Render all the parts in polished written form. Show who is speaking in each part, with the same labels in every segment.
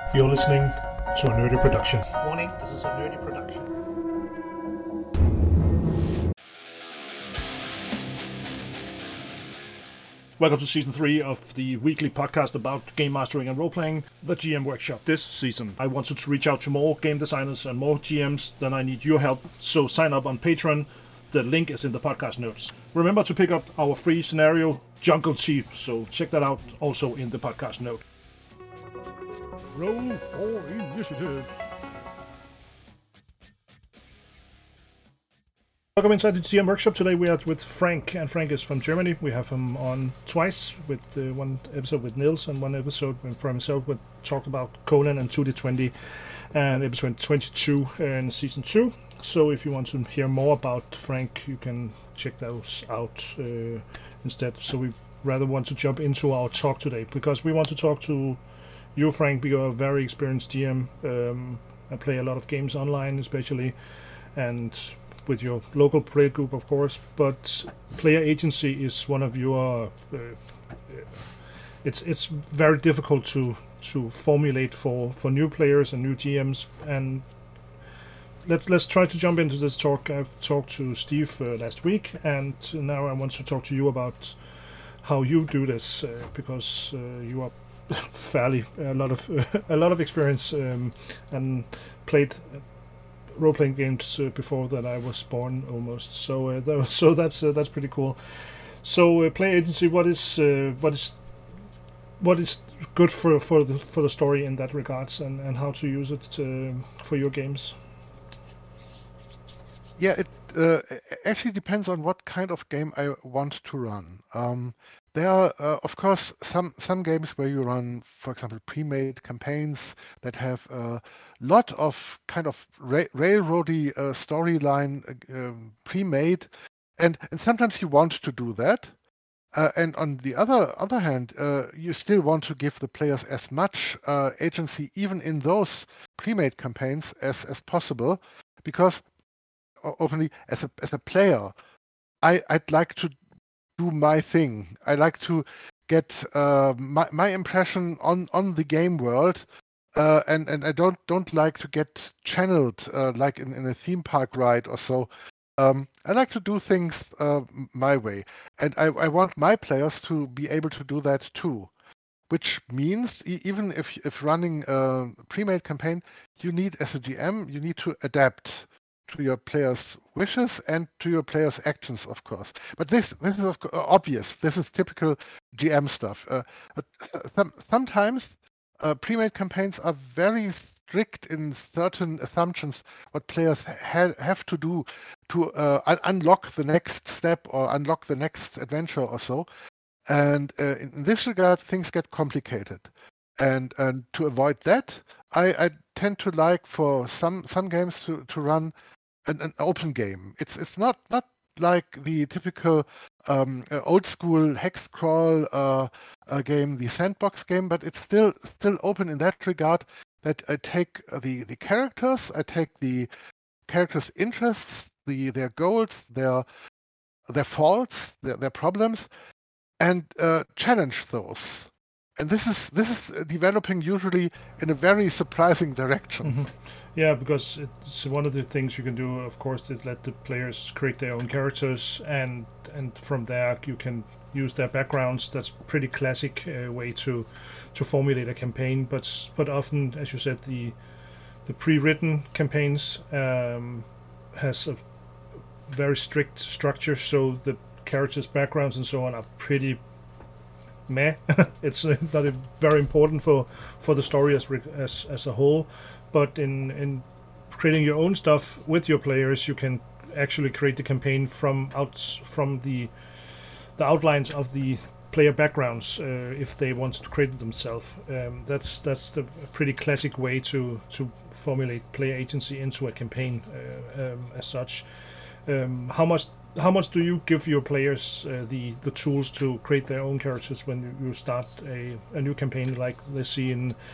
Speaker 1: You're listening to a nerdy production. Warning, this is a nerdy production. Welcome to Season 3 of the weekly podcast about game mastering and role-playing, the GM Workshop. This season, I wanted to reach out to more game designers and more GMs, then I need your help, so sign up on Patreon. The link is in the podcast notes. Remember to pick up our free scenario, Jungle Chief, so check that out also in the podcast note. Roll for initiative. Welcome inside the GM Workshop. Today we are with Frank, and Frank is from Germany. We have him on twice, with one episode with Nils and one episode for himself. We talked about Conan and 2D20 and episode 22 in Season 2. So if you want to hear more about Frank, you can check those out instead. So we rather want to jump into our talk today, because we want to talk to you, Frank, because you're a very experienced GM. I play a lot of games online, especially, and with your local player group, of course. But player agency is one of your. It's very difficult to formulate for new players and new GMs. And let's try to jump into this talk. I've talked to Steve last week, and now I want to talk to you about how you do this, because you are fairly a lot of experience and played role-playing games before that I was born almost. So that's pretty cool. So player agency, what is good for the story in that regards, and how to use it for your games?
Speaker 2: Yeah, it actually depends on what kind of game I want to run. There are, of course, some games where you run, for example, pre-made campaigns that have a lot of kind of railroady storyline pre-made, and sometimes you want to do that. And on the other hand, you still want to give the players as much agency, even in those pre-made campaigns, as possible, because openly, as a player, I'd like to do my thing. I like to get my impression on the game world, and I don't like to get channeled like in a theme park ride or so. I like to do things my way, and I want my players to be able to do that too. Which means even if running a pre-made campaign, you need, as a GM, you need to adapt to your players' wishes and to your players' actions, of course. But this is obvious. This is typical GM stuff. But sometimes pre-made campaigns are very strict in certain assumptions what players have to do to unlock the next step or unlock the next adventure or so. And in this regard, things get complicated. And to avoid that, I tend to like for some games to run an open game. It's not like the typical old school hex crawl game, the sandbox game, but it's still open in that regard, that I take the characters, I take the characters' interests, their goals, their faults, their problems, and challenge those. And this is developing usually in a very surprising direction.
Speaker 1: Mm-hmm. Yeah, because it's one of the things you can do, of course, is let the players create their own characters, and from there you can use their backgrounds. That's a pretty classic way to formulate a campaign. But often, as you said, the pre-written campaigns has a very strict structure, so the characters' backgrounds and so on are pretty meh. It's not very important for the story as a whole. But in creating your own stuff with your players, you can actually create the campaign from the outlines of the player backgrounds if they want to create it themselves. That's the pretty classic way to formulate player agency into a campaign as such. How much do you give your players the tools to create their own characters when you start a new campaign, like they see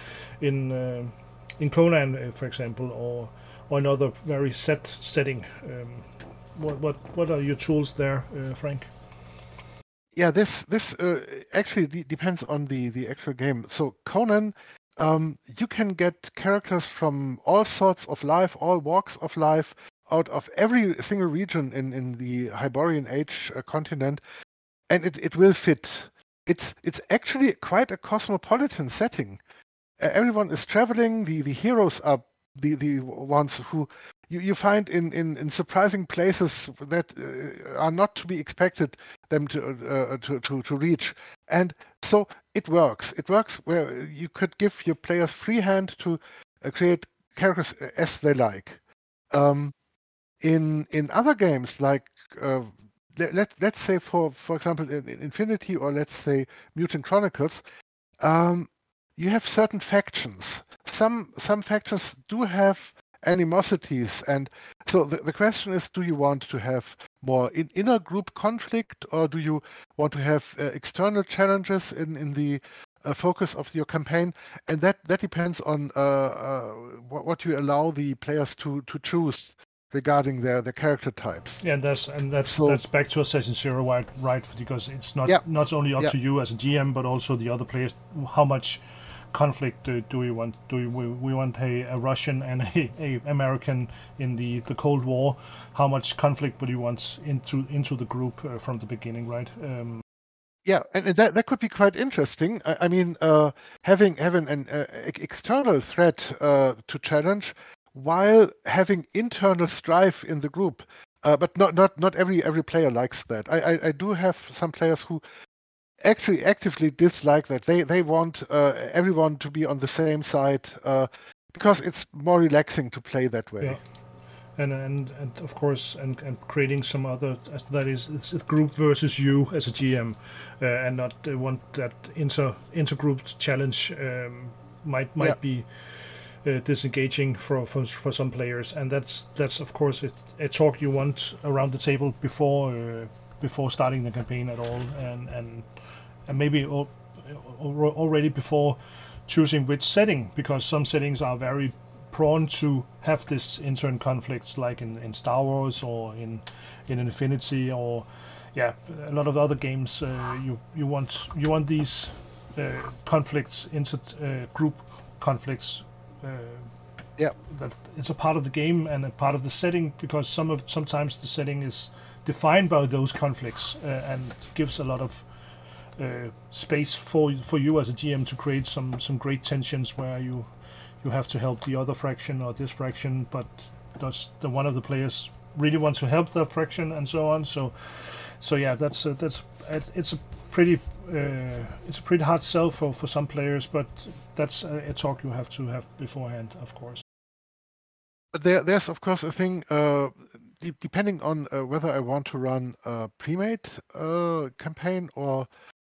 Speaker 1: in Conan, for example, or another very set setting? What are your tools there, Frank?
Speaker 2: Yeah, this actually depends on the actual game. So Conan, you can get characters from all sorts of life, all walks of life, out of every single region in the Hyborian Age continent, and it will fit. It's actually quite a cosmopolitan setting. Everyone is traveling. The heroes are the ones who you find in surprising places that are not to be expected them to reach. And so it works. It works where you could give your players free hand to create characters as they like. In other games like let's say for example in Infinity, or let's say Mutant Chronicles, you have certain factions. Some factions do have animosities, and so the question is, do you want to have more inner group conflict, or do you want to have external challenges in the focus of your campaign? And that depends on what you allow the players to choose regarding their character types.
Speaker 1: Yeah, that's back to Assassin's Zero, right? Because it's not only up to you as a GM, but also the other players. How much conflict do we want? We want a Russian and a American in the Cold War? How much conflict would you want into the group from the beginning, right?
Speaker 2: Yeah, and that could be quite interesting. I mean, having an external threat to challenge, while having internal strife in the group, but not every player likes that. I do have some players who actually actively dislike that. They want everyone to be on the same side because it's more relaxing to play that way.
Speaker 1: Yeah. And of course, and creating some other, that is, it's a group versus you as a GM, and not want that intergroup challenge might be disengaging for some players, and that's of course a talk you want around the table before starting the campaign at all, and maybe already before choosing which setting, because some settings are very prone to have this intern conflicts, like in Star Wars or in Infinity, or a lot of other games. You want these conflicts, group conflicts. That it's a part of the game and a part of the setting, because sometimes the setting is defined by those conflicts and gives a lot of space for you as a GM to create some great tensions where you have to help the other faction or this faction, but does one of the players really want to help that faction, and so on. So yeah, it's a pretty hard sell for some players, but that's a talk you have to have beforehand, of course.
Speaker 2: But there's of course a thing, depending on whether I want to run a pre-made campaign or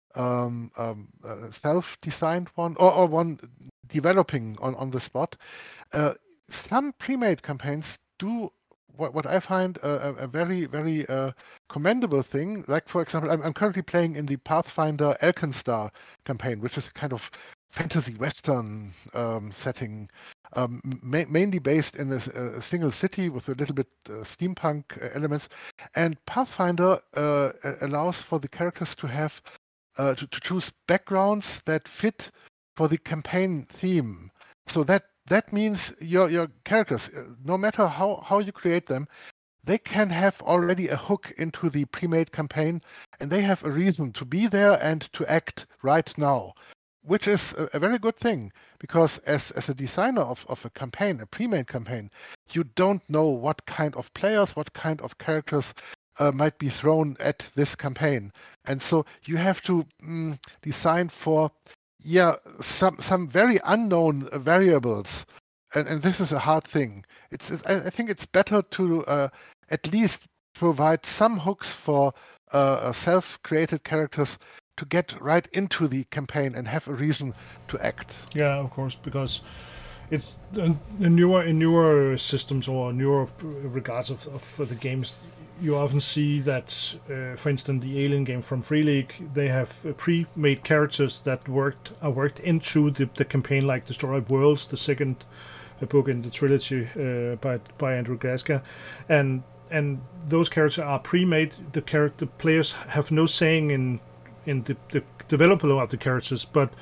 Speaker 2: self-designed one, or one developing on the spot. Some pre-made campaigns do what I find a very, very commendable thing. Like, for example, I'm currently playing in the Pathfinder Alkenstar campaign, which is a kind of fantasy western setting, mainly based in a single city with a little bit steampunk elements. And Pathfinder allows for the characters to have to choose backgrounds that fit for the campaign theme. So that means your characters, no matter how you create them, they can have already a hook into the pre-made campaign, and they have a reason to be there and to act right now, which is a very good thing, because as a designer of a campaign, a pre-made campaign, you don't know what kind of players, what kind of characters might be thrown at this campaign. And so you have to design for some very unknown variables, and this is a hard thing. I think it's better to at least provide some hooks for self-created characters to get right into the campaign and have a reason to act.
Speaker 1: Yeah, of course, because it's in newer systems or newer regards of the games, you often see that, for instance, the Alien game from Free League, they have pre-made characters that are worked into the campaign, like Destroyed Worlds, the second book in the trilogy by Andrew Gaska, and those characters are pre-made. The players have no saying in the development of the characters, but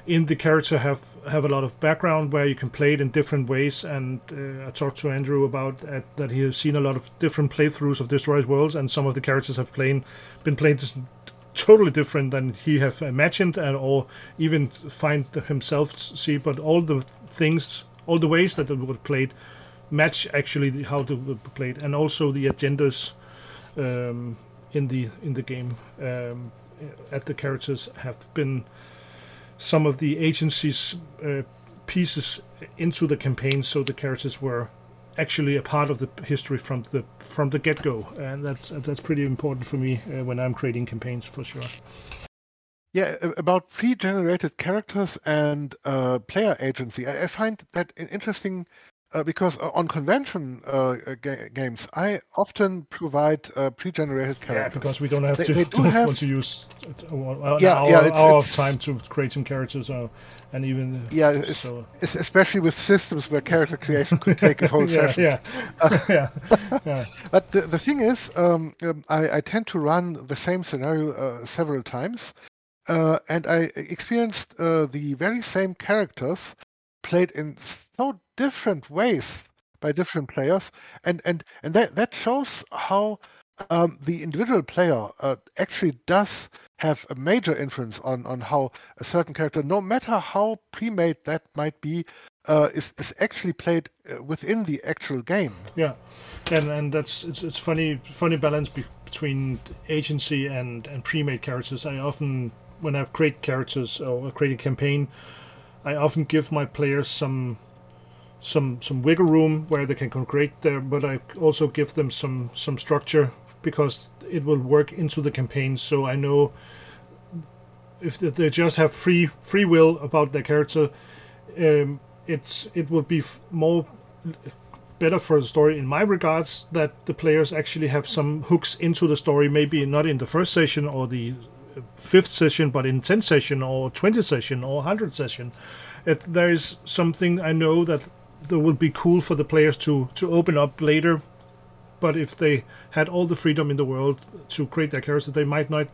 Speaker 1: in the character have a lot of background where you can play it in different ways. And I talked to Andrew about that he has seen a lot of different playthroughs of Destroyed Worlds, and some of the characters have been played totally different than he have imagined, or even find himself see. But all the things, all the ways that it was played, match actually how to be played, and also the agendas in the game at the characters have been some of the agency's pieces into the campaign, so the characters were actually a part of the history from the get-go, and that's pretty important for me when I'm creating campaigns, for sure.
Speaker 2: Yeah, about pre-generated characters and player agency, I find that interesting because on convention games, I often provide pre-generated characters.
Speaker 1: Yeah, because we don't have want to use an hour of time to create some characters, and even
Speaker 2: especially with systems where character creation could take a whole session. But the thing is, I tend to run the same scenario several times, and I experienced the very same characters played in so different ways by different players, and that shows how the individual player actually does have a major influence on how a certain character, no matter how pre-made that might be, is actually played within the actual game.
Speaker 1: Yeah, and it's funny balance between agency and pre-made characters. I often, when I create characters or create a campaign, I often give my players some wiggle room where they can create there, but I also give them some structure because it will work into the campaign. So I know if they just have free will about their character, it will be more better for the story in my regards that the players actually have some hooks into the story, maybe not in the first session or the 5th session, but in 10th session or 20th session or 100th session. There is something I know that would be cool for the players to open up later, but if they had all the freedom in the world to create their character, they might not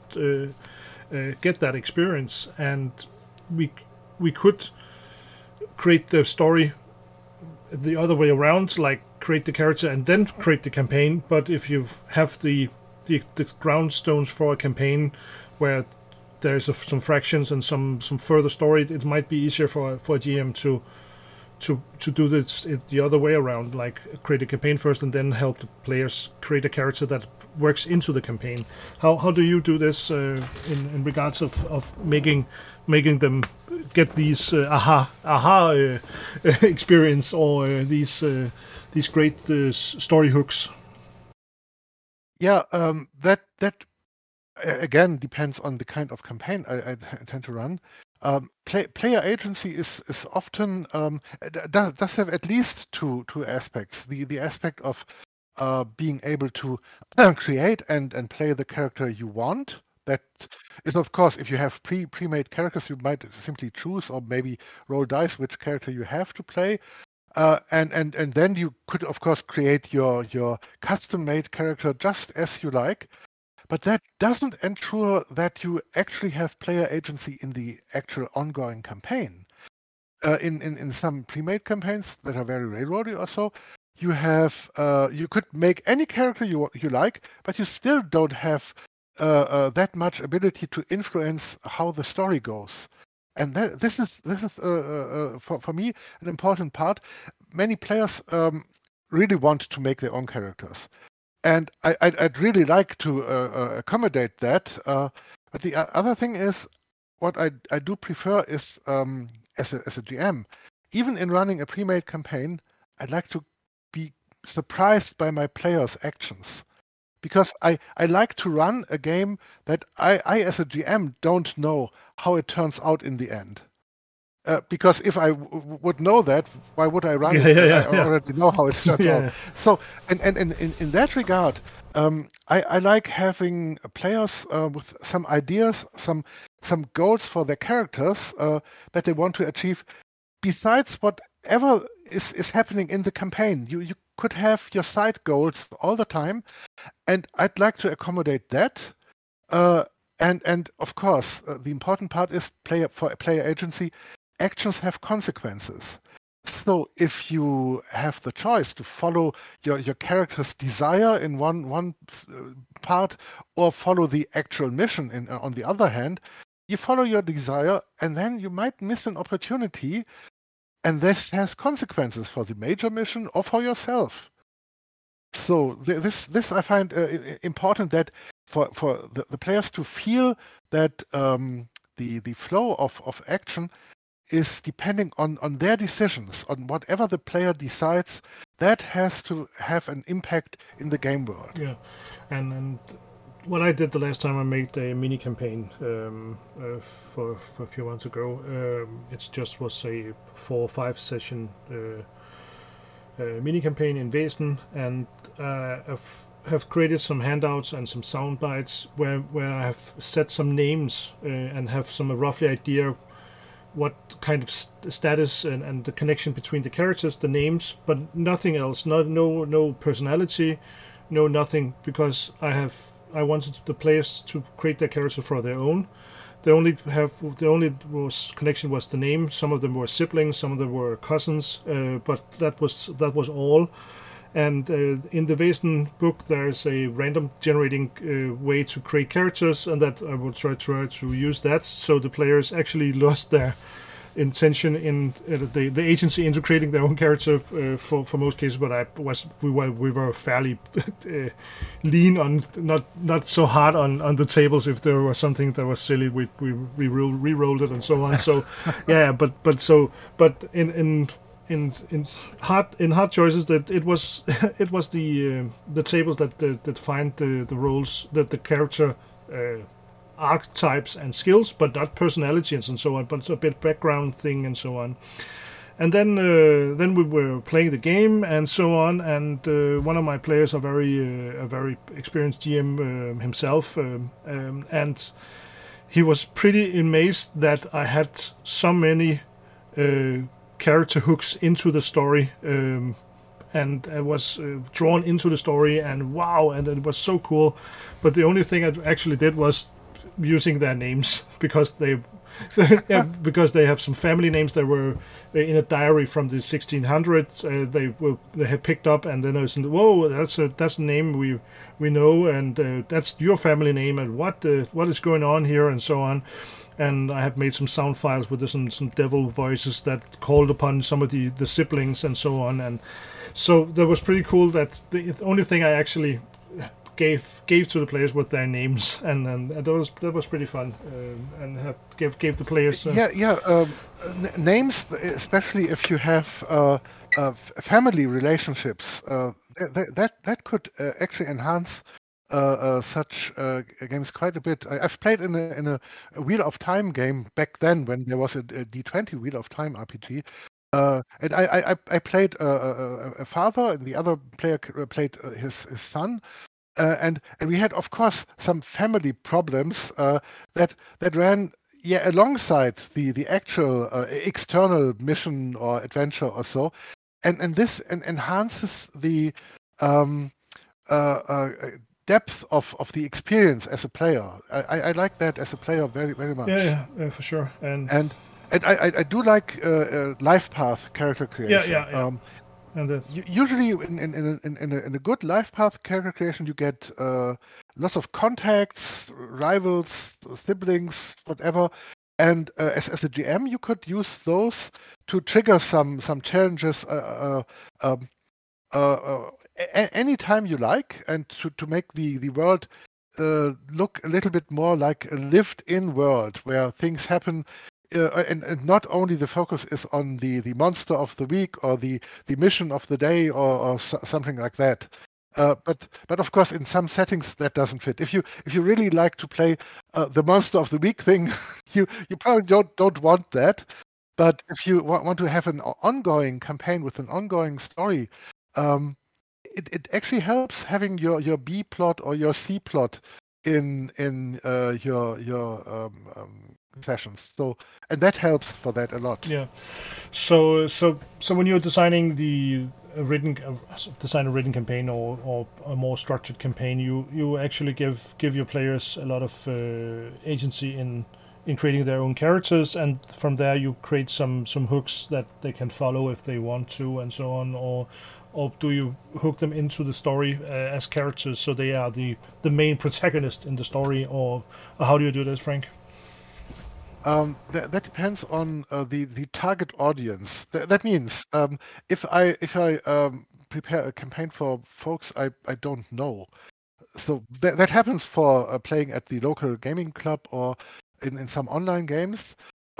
Speaker 1: get that experience. And we could create the story the other way around, like create the character and then create the campaign. But if you have the groundstones for a campaign where there's some fractions and some further story, it might be easier for a GM to do this the other way around, like create a campaign first and then help the players create a character that works into the campaign. How do you do this in regards of making them get these aha experience or these great story hooks?
Speaker 2: Yeah, that again depends on the kind of campaign I tend to run. Player agency is often does have at least two aspects. The aspect of being able to create and play the character you want. That is, of course, if you have pre-made characters, you might simply choose or maybe roll dice which character you have to play. And then you could, of course, create your custom-made character just as you like. But that doesn't ensure that you actually have player agency in the actual ongoing campaign. In some pre-made campaigns that are very railroady or so, you have you could make any character you like, but you still don't have that much ability to influence how the story goes. And this is for me an important part. Many players really want to make their own characters. And I'd really like to accommodate that. But the other thing is, what I do prefer is, as a GM, even in running a pre-made campaign, I'd like to be surprised by my players' actions. Because I like to run a game that I as a GM don't know how it turns out in the end. Because if I would know that, why would I run it? I already know how it turns out. So, and in that regard, I like having players with some ideas, some goals for their characters that they want to achieve, besides whatever is happening in the campaign. You could have your side goals all the time, and I'd like to accommodate that. And of course, the important part is player agency. Actions have consequences. So if you have the choice to follow your character's desire in one part, or follow the actual mission on the other hand, you follow your desire, and then you might miss an opportunity, and this has consequences for the major mission or for yourself. So this I find important, that for the players to feel that the flow of action is depending on their decisions, on whatever the player decides. That has to have an impact in the game world.
Speaker 1: Yeah, and what I did the last time I made a mini campaign for a few months ago, it just was a 4 or 5 session mini campaign in Væsen, and have created some handouts and some sound bites where I have set some names and have some roughly idea what kind of status and the connection between the characters, the names, but nothing else. No personality, no nothing, because I wanted the players to create their character for their own. The only connection was the name. Some of them were siblings, some of them were cousins, but that was all. And in the Væsen book, there's a random generating way to create characters, and that I will try to use that, so the players actually lost their intention in the agency into creating their own character for most cases. But we were fairly lean on, not so hard on the tables. If there was something that was silly, we re-rolled it and so on. So yeah, but in hard choices, that it was the tables that defined the roles, that the character archetypes and skills, but not personalities and so on, but a bit background thing and so on. And then we were playing the game and so on, and one of my players, a very experienced GM himself, and he was pretty amazed that I had so many character hooks into the story, and I was drawn into the story, and wow, and it was so cool. But the only thing I actually did was using their names, because they because they have some family names that were in a diary from the 1600s. They had picked up, and then I was, whoa, that's a name we know, and that's your family name, and what is going on here, and so on. And I have made some sound files with some devil voices that called upon some of the siblings and so on. And so that was pretty cool. That the only thing I actually gave to the players were their names, and that was pretty fun, and gave the players
Speaker 2: names, especially if you have family relationships, that could actually enhance such games quite a bit. I've played in a Wheel of Time game back then, when there was a D20 Wheel of Time RPG, and I played a father, and the other player played his son, and we had, of course, some family problems that ran alongside the actual external mission or adventure or so, and this enhances the depth of the experience as a player. I like that as a player very, very much.
Speaker 1: Yeah, for sure. And
Speaker 2: I do like life path character creation.
Speaker 1: Yeah.
Speaker 2: Usually in a good life path character creation, you get lots of contacts, rivals, siblings, whatever. And as a GM, you could use those to trigger some challenges anytime you like, and to make the world look a little bit more like a lived-in world where things happen. And not only the focus is on the monster of the week or the mission of the day or something like that. But of course, in some settings that doesn't fit. If you really like to play the monster of the week thing, you probably don't want that. But if you want to have an ongoing campaign with an ongoing story, it actually helps having your B plot or your C plot in your sessions. So, and that helps for that a lot.
Speaker 1: Yeah. So when you're designing design a written campaign or a more structured campaign, you actually give your players a lot of agency in creating their own characters, and from there you create some hooks that they can follow if they want to, and so on. Or do you hook them into the story as characters so they are the main protagonist in the story, or how do you do this, Frank?
Speaker 2: That depends on the target audience. That means if I prepare a campaign for folks I don't know, so that happens for playing at the local gaming club or in some online games.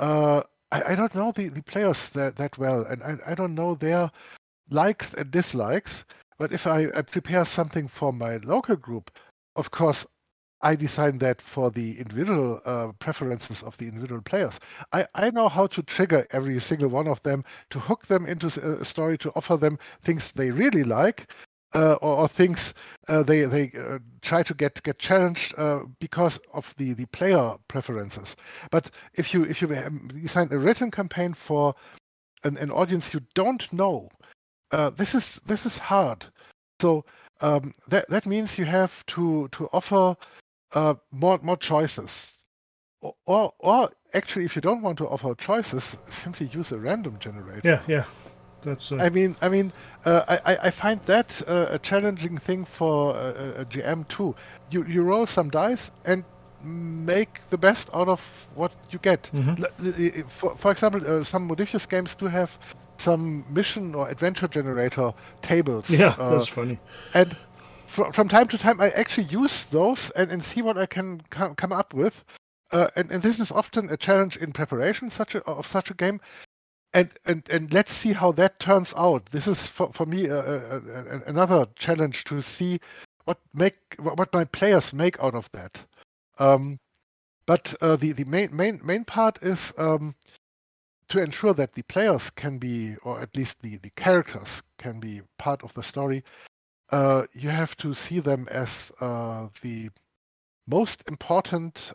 Speaker 2: I don't know the players that well, and I don't know their likes and dislikes. But if I prepare something for my local group, of course I design that for the individual preferences of the individual players. I know how to trigger every single one of them, to hook them into a story, to offer them things they really like, or things they try to get challenged because of the player preferences. But if you design a written campaign for an audience you don't know, this is hard. So that means you have to offer more choices. Or actually, if you don't want to offer choices, simply use a random generator.
Speaker 1: Yeah, that's
Speaker 2: I find that a challenging thing for a GM too. You roll some dice and make the best out of what you get. For example, some Modiphius games do have some mission or adventure generator tables.
Speaker 1: yeah, that's funny.
Speaker 2: And from time to time, I actually use those and see what I can come up with. And this is often a challenge in preparation of such a game. And let's see how that turns out. This is for me another challenge to see what my players make out of that. But the main part is to ensure that the players can be, or at least the characters can be part of the story. You have to see them as the most important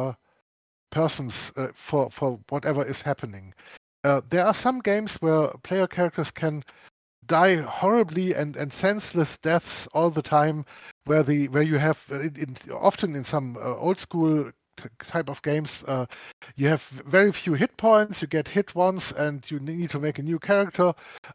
Speaker 2: persons for whatever is happening. There are some games where player characters can die horribly and senseless deaths all the time, where you have often in some old school type of games, you have very few hit points. You get hit once, and you need to make a new character.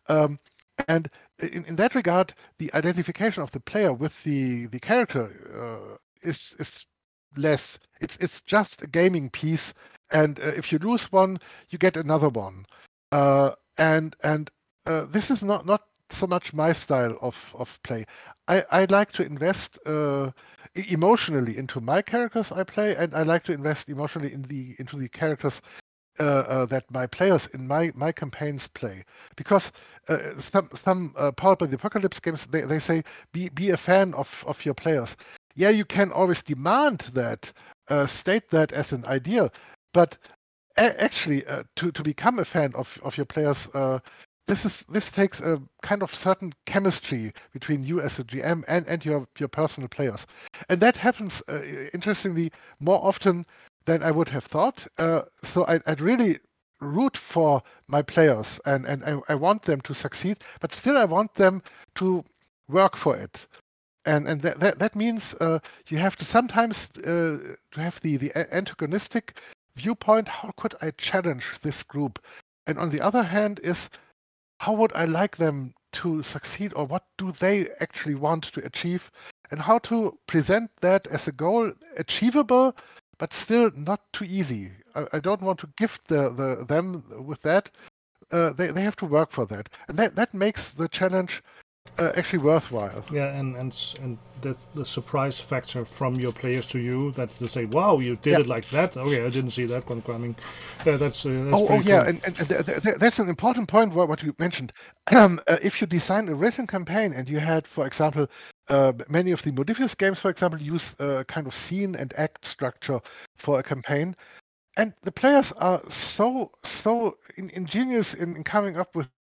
Speaker 2: And in that regard, the identification of the player with the character is less. It's just a gaming piece, and if you lose one, you get another one. And this is not so much my style of play. I like to invest emotionally into my characters I play, and I like to invest emotionally into the characters that my players in my campaigns play. Because some Powered by the Apocalypse games, they say be a fan of your players. Yeah, you can always demand that, state that as an ideal, but actually to become a fan of your players, this takes a kind of certain chemistry between you as a GM and your personal players, and that happens interestingly more often than I would have thought. So I'd really root for my players, and I want them to succeed, but still I want them to work for it. And that means you have to sometimes to have the antagonistic viewpoint. How could I challenge this group? And on the other hand is, how would I like them to succeed, or what do they actually want to achieve, and how to present that as a goal achievable, but still not too easy. I don't want to gift them with that. They have to work for that, and that makes the challenge actually worthwhile.
Speaker 1: Yeah, and the surprise factor from your players to you, that they say, "Wow, you did it like that." Okay, I didn't see that one coming. That's
Speaker 2: oh yeah,
Speaker 1: cool.
Speaker 2: and that's an important point. What you mentioned. If you design a written campaign and you had, for example, many of the Modiphius games, for example, use a kind of scene and act structure for a campaign, and the players are so ingenious in coming up with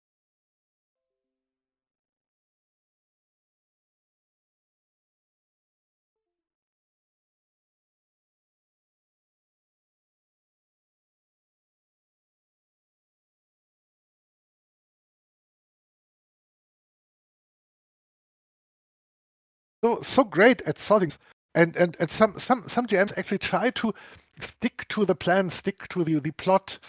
Speaker 2: so great at solving, and some GMs actually try to stick to the plan, stick to the plot.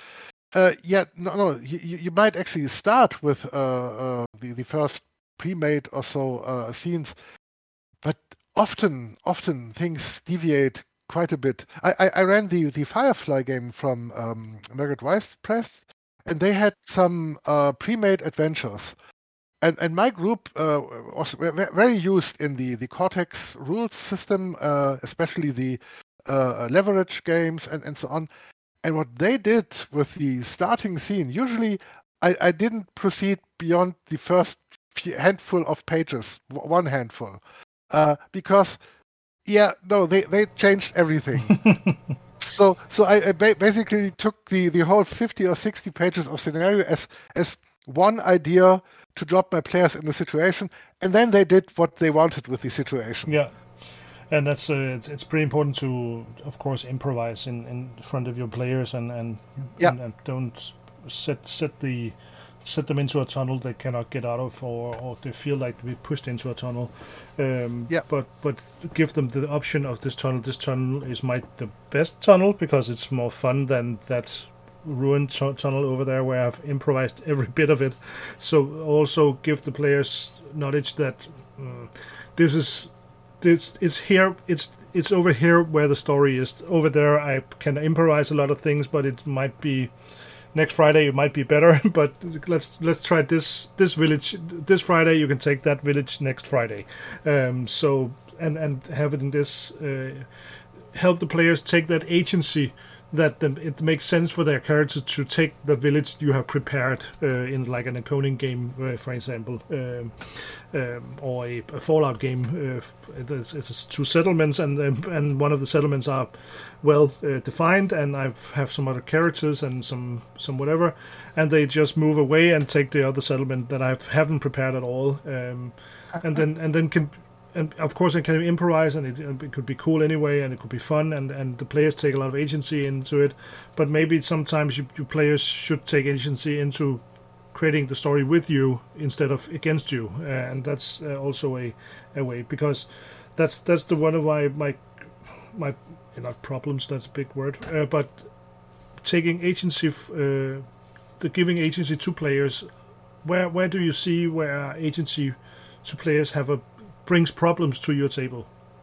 Speaker 2: You might actually start with the first pre-made or so scenes, but often things deviate quite a bit. I ran the Firefly game from Margaret Weis Press, and they had some pre-made adventures. And my group was very used in the Cortex rules system, especially the leverage games and so on. And what they did with the starting scene, usually I didn't proceed beyond the first handful of pages, one handful, because they changed everything. So I basically took the whole 50 or 60 pages of scenario as one idea to drop my players in the situation, and then they did what they wanted with the situation.
Speaker 1: Yeah. And that's it's pretty important to, of course, improvise in front of your players and don't set them into a tunnel they cannot get out of, or they feel like to be pushed into a tunnel. But give them the option of this tunnel. This tunnel is the best tunnel because it's more fun than that ruined tunnel over there where I've improvised every bit of it. So also give the players knowledge that it's here. It's over here where the story is. Over there, I can improvise a lot of things, but it might be next Friday. It might be better. But let's try this village this Friday. You can take that village next Friday. So have it in this. Help the players take that agency. That it makes sense for their character to take the village you have prepared in like an Ikoning game, for example, or a Fallout game. It's two settlements, and one of the settlements are well defined, and I have some other characters and some whatever, and they just move away and take the other settlement that I haven't prepared at all, and then can. And of course, it can improvise, and it could be cool anyway, and it could be fun, and the players take a lot of agency into it. But maybe sometimes you players should take agency into creating the story with you instead of against you, and that's also a way, because that's the one of my not problems. That's a big word, but taking agency, giving agency to players. Where do you see where agency to players brings problems to your table?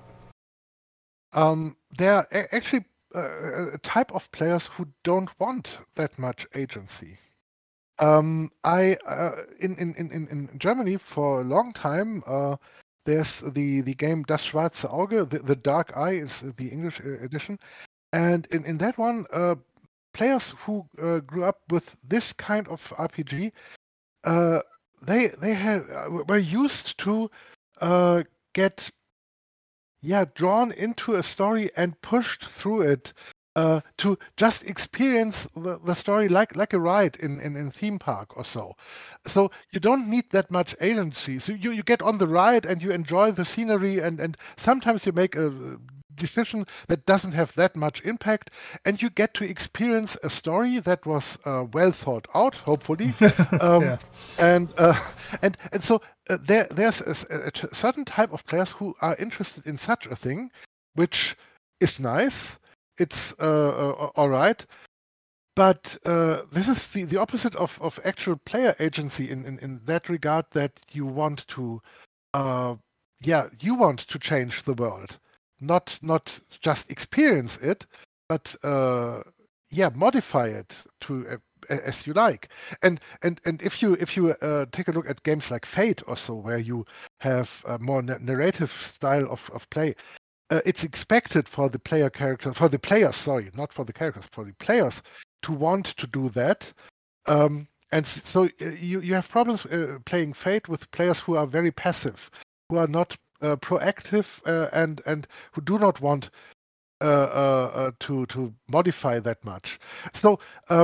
Speaker 2: There are actually a type of players who don't want that much agency. I in Germany for a long time there's the game Das Schwarze Auge, the Dark Eye is the English edition, and in that one players who grew up with this kind of RPG they were used to get drawn into a story and pushed through it to just experience the story like a ride in theme park or so. So you don't need that much agency. So you get on the ride and you enjoy the scenery, and sometimes you make a decision that doesn't have that much impact, and you get to experience a story that was well thought out, hopefully. And so there's a certain type of players who are interested in such a thing, which is nice. It's all right, but this is the opposite of actual player agency in that regard. That you want to change the world. Not just experience it, but modify it to as you like. And if you take a look at games like Fate or so, where you have a more narrative style of play, it's expected for the players, not for the characters, for the players to want to do that. And so you have problems playing Fate with players who are very passive, who are not proactive, and who do not want to modify that much. So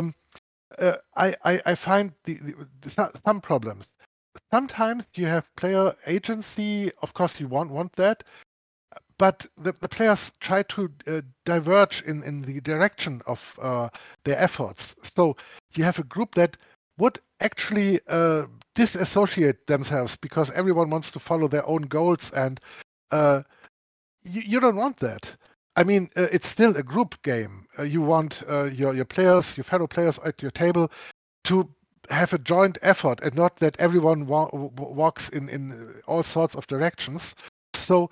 Speaker 2: I find some problems. Sometimes you have player agency. Of course, you want that, but the players try to diverge in the direction of their efforts. So you have a group that would actually disassociate themselves because everyone wants to follow their own goals, and you don't want that. I mean, it's still a group game. You want your players, your fellow players at your table, to have a joint effort, and not that everyone walks in all sorts of directions. So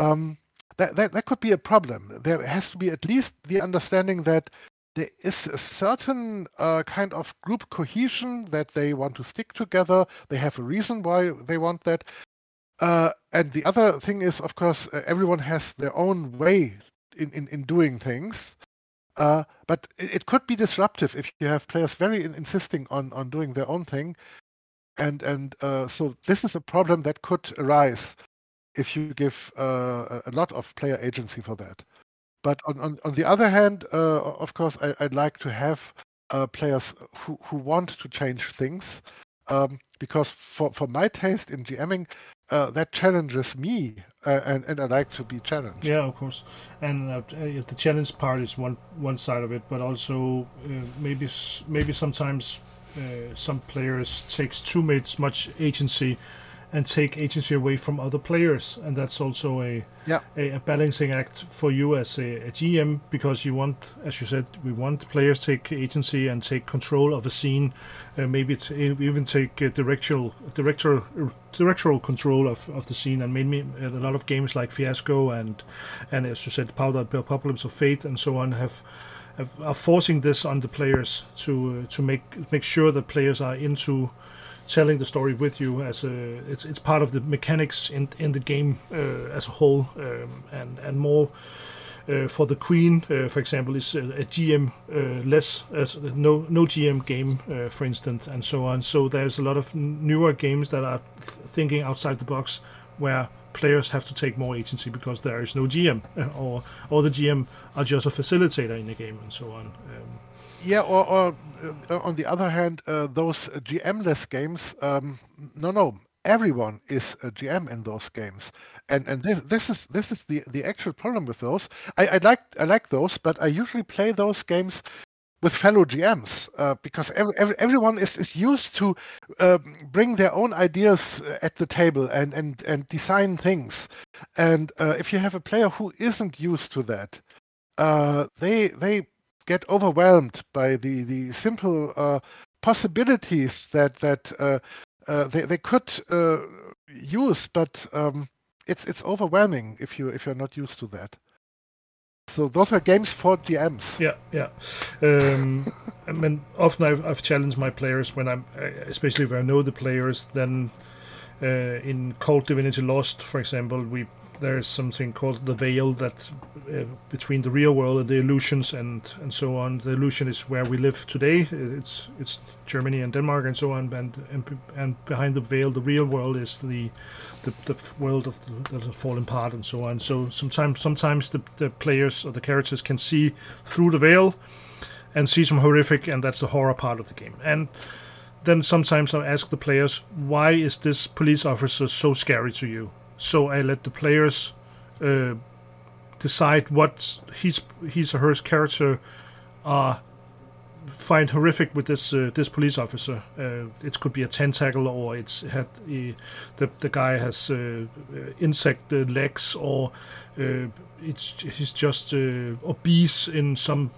Speaker 2: that could be a problem. There has to be at least the understanding that there is a certain kind of group cohesion, that they want to stick together. They have a reason why they want that. And the other thing is, of course, everyone has their own way in doing things. But it could be disruptive if you have players very insisting on doing their own thing. And so this is a problem that could arise if you give a lot of player agency for that. But on the other hand, of course, I'd like to have players who want to change things, because for my taste in GMing, that challenges me, and I like to be challenged.
Speaker 1: Yeah, of course. And the challenge part is one side of it, but also maybe sometimes some players takes too much agency and take agency away from other players, and that's also a balancing act for you as a GM, because you want, as you said, we want players to take agency and take control of a scene, maybe even take directorial control of the scene, and maybe a lot of games like Fiasco and as you said, Powder Apocalypse of Fate and so on are forcing this on the players to make sure that players are into telling the story with you, as it's part of the mechanics in the game as a whole, and more for the Queen, for example, is a GM less, as no GM game, for instance, and so on. So there's a lot of newer games that are thinking outside the box, where players have to take more agency because there is no GM, or the GM are just a facilitator in the game, and so on.
Speaker 2: Yeah, or on the other hand, those GM-less games, no, everyone is a GM in those games, and this is the actual problem with those. I like those, but I usually play those games with fellow GMs, because everyone is used to bring their own ideas at the table and design things, and if you have a player who isn't used to that, they get overwhelmed by the simple possibilities that they could use, but it's overwhelming if you're not used to that. So those are games for GMs.
Speaker 1: Yeah. I mean, often I've challenged my players when especially if I know the players. Then in Cult Divinity Lost, for example, there is something called the veil that between the real world and the illusions and so on. The illusion is where we live today. It's Germany and Denmark and so on. And behind the veil, the real world is the world of the fallen part and so on. So sometimes the players or the characters can see through the veil and see some horrific, and that's the horror part of the game. And then sometimes I ask the players, why is this police officer so scary to you? So I let the players decide what his or her character find horrific with this police officer. It could be a tentacle, or the guy has insect legs, or he's just obese in some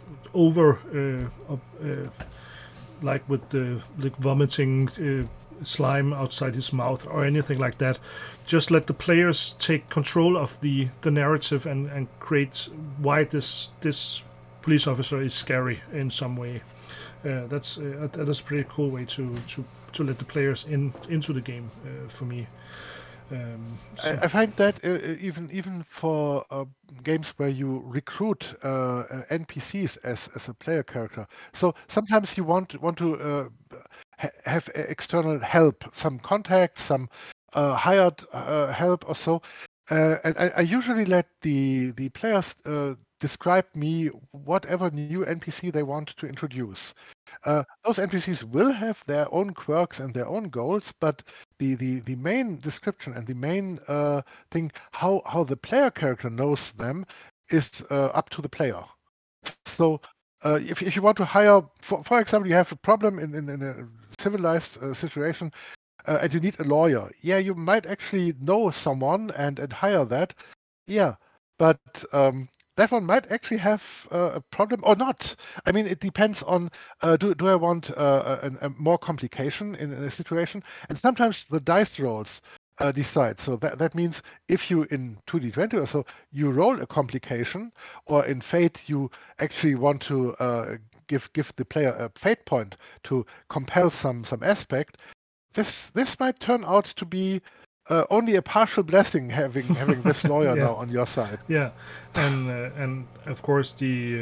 Speaker 1: like with the vomiting slime outside his mouth or anything like that. Just let the players take control of the narrative and create why this police officer is scary in some way. That's a pretty cool way to let the players into the game for me.
Speaker 2: I find that even for games where you recruit NPCs as a player character. So sometimes you want to have external help, some contacts, some hired help or so. And I usually let the players describe me whatever new NPC they want to introduce. Those NPCs will have their own quirks and their own goals, but the main description and the main thing, how the player character knows them, is up to the player. So if you want to hire, for example, you have a problem in a civilized situation, and you need a lawyer. Yeah, you might actually know someone and hire that. Yeah, but that one might actually have a problem or not. I mean, it depends on do I want a more complication in a situation, and sometimes the dice rolls decide. So that means if you in 2D20 or so you roll a complication, or in Fate you actually want to give the player a fate point to compel some aspect. This might turn out to be only a partial blessing having this lawyer
Speaker 1: Yeah.
Speaker 2: now on your side.
Speaker 1: Yeah, and of course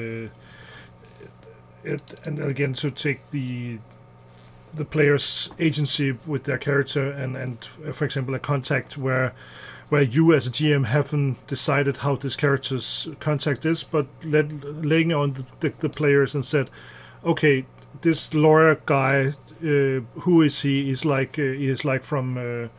Speaker 1: and again to take the player's agency with their character and for example a contact where you as a GM haven't decided how this character's contact is, but laying on the players and said, okay, this lawyer guy, who is he? He's like from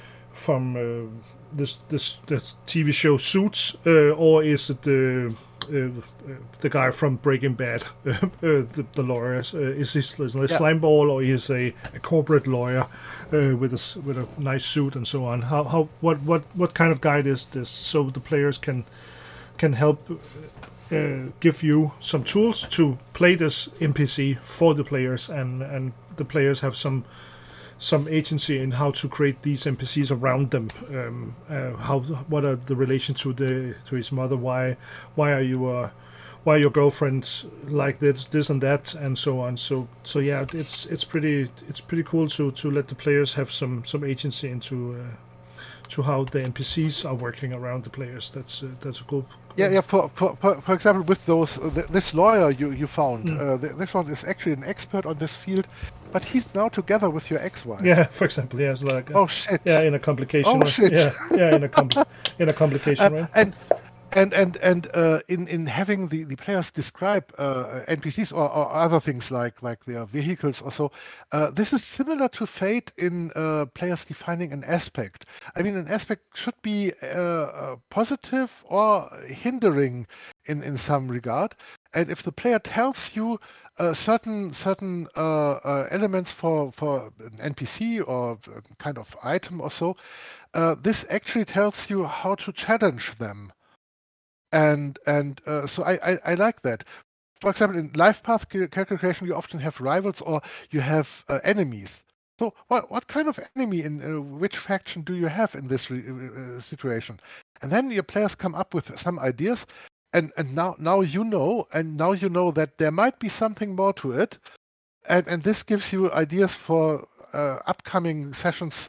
Speaker 1: this TV show Suits, or is it the guy from Breaking Bad, the lawyer? Is he a slimeball, or is a corporate lawyer with a nice suit and so on? What kind of guide is this? So the players can help give you some tools to play this NPC for the players, and the players have some agency in how to create these NPCs around them. What are the relation to his mother? Why are your girlfriends like this and that, and so on. So yeah, it's pretty cool to let the players have some agency into to how the NPCs are working around the players. That's a cool.
Speaker 2: Yeah. For example, with those this lawyer you found, this one is actually an expert on this field, but he's now together with your ex-wife.
Speaker 1: Yeah, for example, yeah, it's like
Speaker 2: oh shit.
Speaker 1: Yeah, in a complication.
Speaker 2: Oh shit.
Speaker 1: Yeah, in a complication, right?
Speaker 2: And in having the players describe NPCs or other things like their vehicles or so, this is similar to Fate in players defining an aspect. I mean, an aspect should be positive or hindering in some regard. And if the player tells you certain elements for an NPC or kind of item or so, this actually tells you how to challenge them. And so I like that. For example, in life path character creation, you often have rivals or you have enemies. So what kind of enemy in which faction do you have in this situation? And then your players come up with some ideas, and now you know that there might be something more to it, and this gives you ideas for upcoming sessions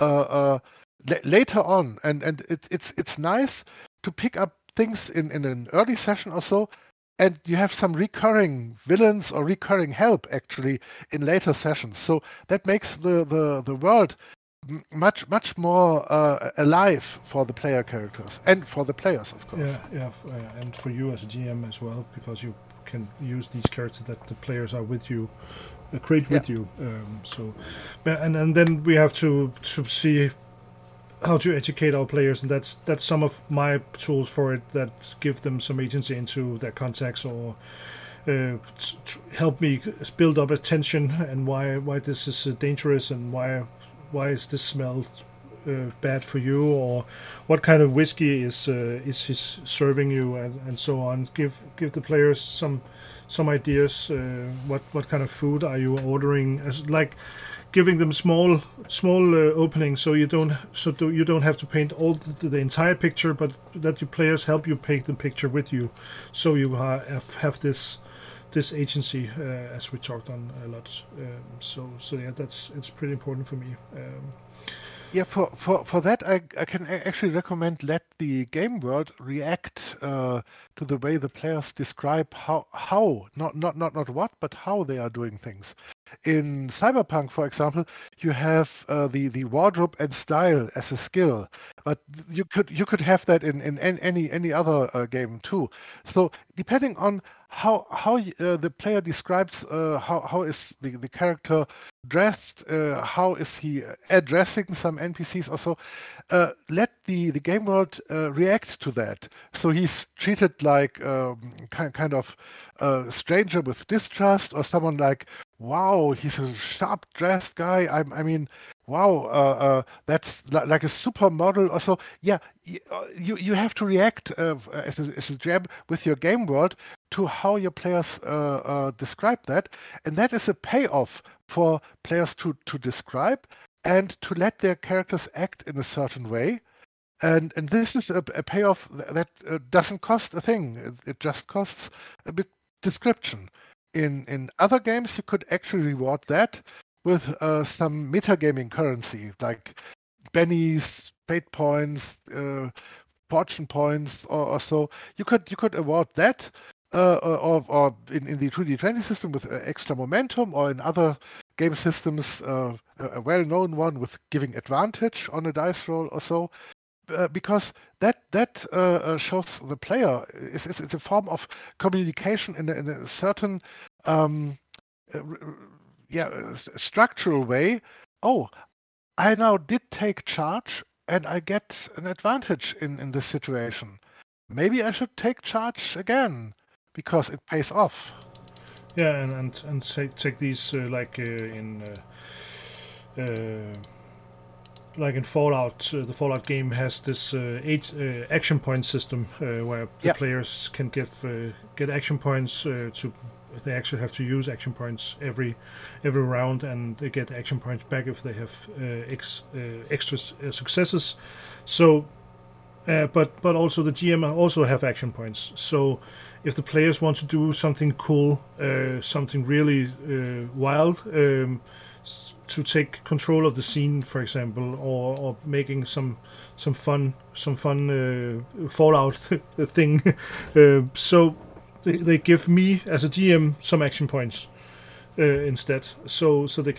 Speaker 2: later on, and it's nice to pick up things in an early session or so, and you have some recurring villains or recurring help actually in later sessions. So that makes the world much more alive for the player characters and for the players, of course.
Speaker 1: Yeah, and for you as a GM as well, because you can use these characters that the players are with you, create with you. So, and then we have to see how to educate our players, and that's some of my tools for it that give them some agency into their contacts, or help me build up attention and why this is dangerous, and why is this smell bad for you, or what kind of whiskey is he serving you, and so on. Give the players some ideas. What kind of food are you ordering? As like giving them small openings, so you don't have to paint all the entire picture, but that your players help you paint the picture with you, so you have this agency, as we talked on a lot. So yeah, it's pretty important for me.
Speaker 2: Yeah, for that, I can actually recommend let the game world react to the way the players describe how not what, but how they are doing things. In Cyberpunk, for example, you have the wardrobe and style as a skill, but you could have that in any other game too. So depending on how the player describes how is the character dressed, how is he addressing some NPCs or so, let the game world react to that. So he's treated like kind of a stranger with distrust, or someone like, wow, he's a sharp dressed guy. I mean, wow, that's like a supermodel or so. Yeah, you have to react as a GM with your game world to how your players describe that, and that is a payoff for players to describe and to let their characters act in a certain way. And this is a payoff that doesn't cost a thing. It just costs a bit description. In other games, you could actually reward that with some metagaming currency, like bennies, fate points, fortune points, or so. You could award that, or in the 2D20 system with extra momentum, or in other game systems, a well-known one with giving advantage on a dice roll or so. Because that shows the player it's a form of communication in a certain structural way. Oh, I now did take charge and I get an advantage in this situation. Maybe I should take charge again because it pays off.
Speaker 1: Yeah, and take these like in Fallout, the Fallout game has this 8 action point system where the players can get action points to. They actually have to use action points every round, and they get action points back if they have extra successes. So, but also the GM also have action points. So, if the players want to do something cool, something really wild. To take control of the scene, for example, or making some fun Fallout thing. So they give me as a GM some action points instead. So they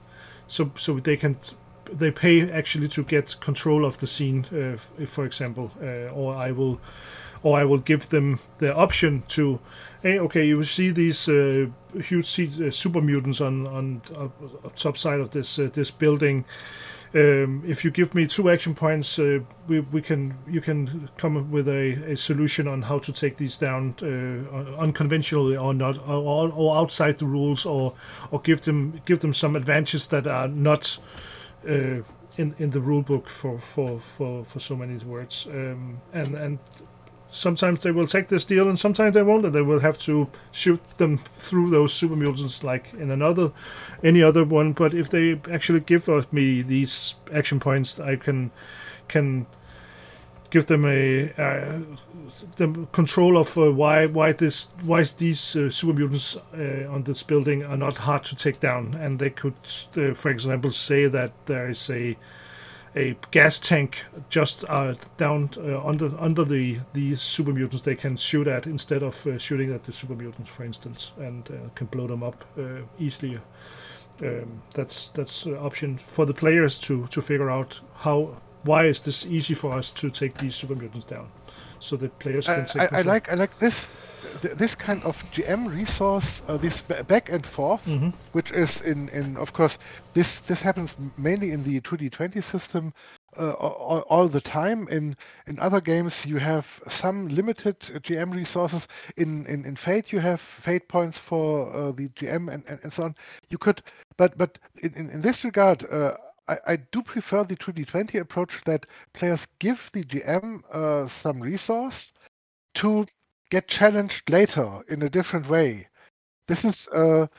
Speaker 1: pay actually to get control of the scene, if, for example, or I will give them the option to, hey, okay, you see these huge super mutants on top side of this building. If you give me 2 action points, you can come up with a solution on how to take these down unconventionally or not, or outside the rules, or give them some advantages that are not in the rule book for so many words, and sometimes they will take this deal and sometimes they won't, and they will have to shoot them through those super mutants like in any other one. But if they actually give me these action points, I can give them the control of why these super mutants on this building are not hard to take down, and they could for example say that there is a gas tank just down under these super mutants they can shoot at instead of shooting at the super mutants, for instance, and can blow them up easily. That's an option for the players to figure out why is this easy for us to take these super mutants down, so the players can take
Speaker 2: I like this kind of GM resource, this back and forth, which is in of course this happens mainly in the 2D20 system all the time. In other games you have some limited GM resources. In Fate you have fate points for the GM and so on. You could, but in this regard. I do prefer the 2D20 approach that players give the GM some resource to get challenged later in a different way. This is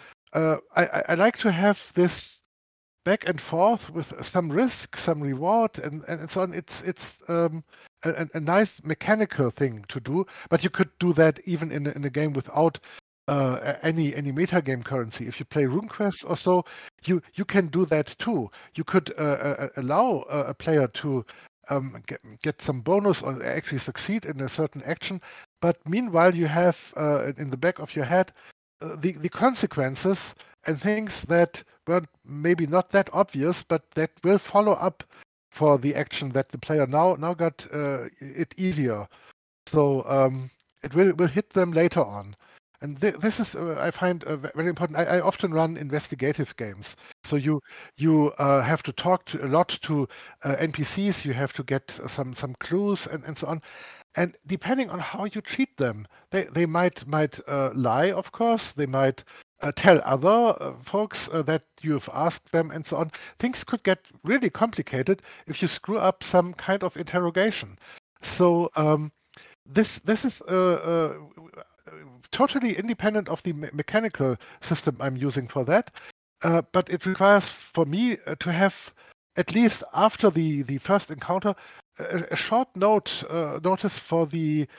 Speaker 2: I like to have this back and forth with some risk, some reward, and so on. It's a nice mechanical thing to do, but you could do that even in a game without any metagame currency. If you play RuneQuest or so, you can do that too. You could allow a player to get some bonus or actually succeed in a certain action, but meanwhile you have in the back of your head the consequences and things that were maybe not that obvious, but that will follow up for the action that the player now got it easier. So it will hit them later on. And this is, I find, very important. I often run investigative games. So you have to talk a lot to NPCs. You have to get some clues and so on. And depending on how you treat them, they might lie, of course. They might tell other folks that you've asked them and so on. Things could get really complicated if you screw up some kind of interrogation. So this is totally independent of the mechanical system I'm using for that. But it requires for me to have, at least after the first encounter, a short notice for the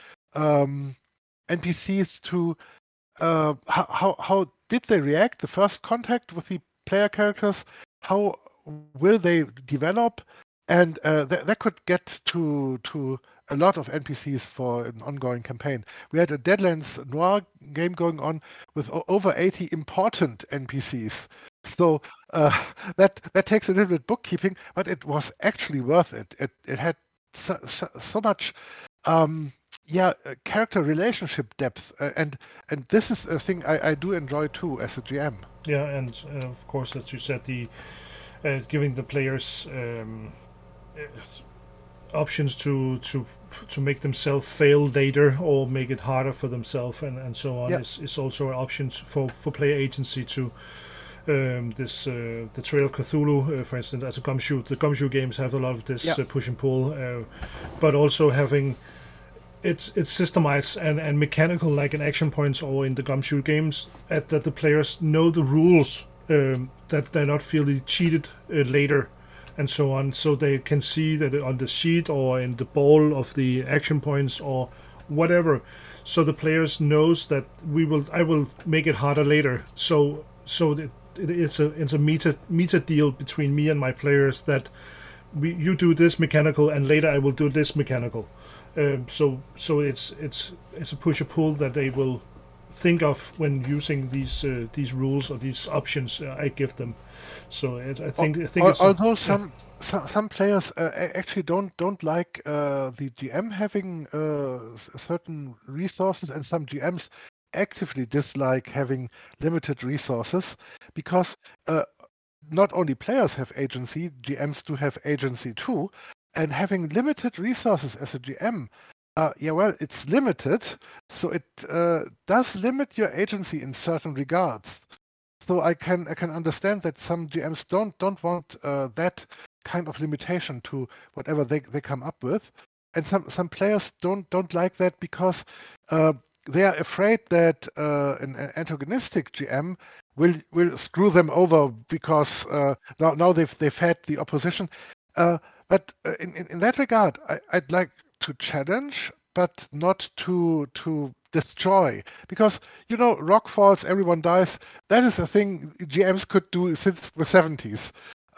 Speaker 2: NPCs to how did they react, the first contact with the player characters, how will they develop, and that could get to a lot of NPCs for an ongoing campaign. We had a Deadlands Noir game going on with over 80 important NPCs. So that takes a little bit bookkeeping, but it was actually worth it. It had so much character relationship depth, and this is a thing I do enjoy too as a GM.
Speaker 1: Yeah, and of course, as you said, the giving the players options to make themselves fail later or make it harder for themselves and so on is also an option for player agency to the Trail of Cthulhu, for instance, as a gumshoe. The gumshoe games have a lot of this push and pull, but also having it's systemized and mechanical, like in Action Points or in the gumshoe games, that the players know the rules, that they're not feeling cheated later and so on, so they can see that on the sheet or in the ball of the action points or whatever, so the players knows that I will make it harder later. So it's a meta deal between me and my players that you do this mechanical and later I will do this mechanical. So it's a push or pull that they will think of when using these rules or these options I give them. So I think it's
Speaker 2: although some players actually don't like the GM having certain resources, and some GMs actively dislike having limited resources, because not only players have agency, GMs do have agency too, and having limited resources as a GM, it's limited, so it does limit your agency in certain regards. So I can understand that some GMs don't want that kind of limitation to whatever they come up with, and some players don't like that because they are afraid that an antagonistic GM will screw them over because now they've had the opposition. But in that regard, I'd like to challenge, but not to destroy, because rock falls, everyone dies. That is a thing GMs could do since the 70s.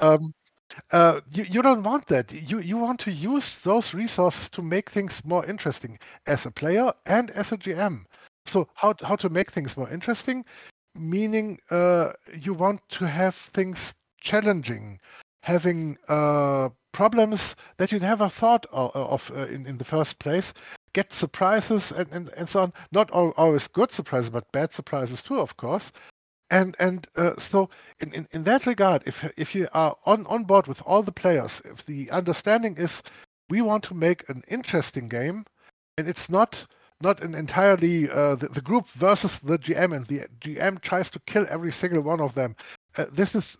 Speaker 2: You don't want that. You want to use those resources to make things more interesting as a player and as a GM. So how to make things more interesting, meaning you want to have things challenging, having problems that you never thought of in the first place, get surprises and so on. Not always good surprises, but bad surprises too, of course. And so in that regard, if you are on board with all the players, if the understanding is we want to make an interesting game, and it's not an entirely the group versus the GM, and the GM tries to kill every single one of them. This is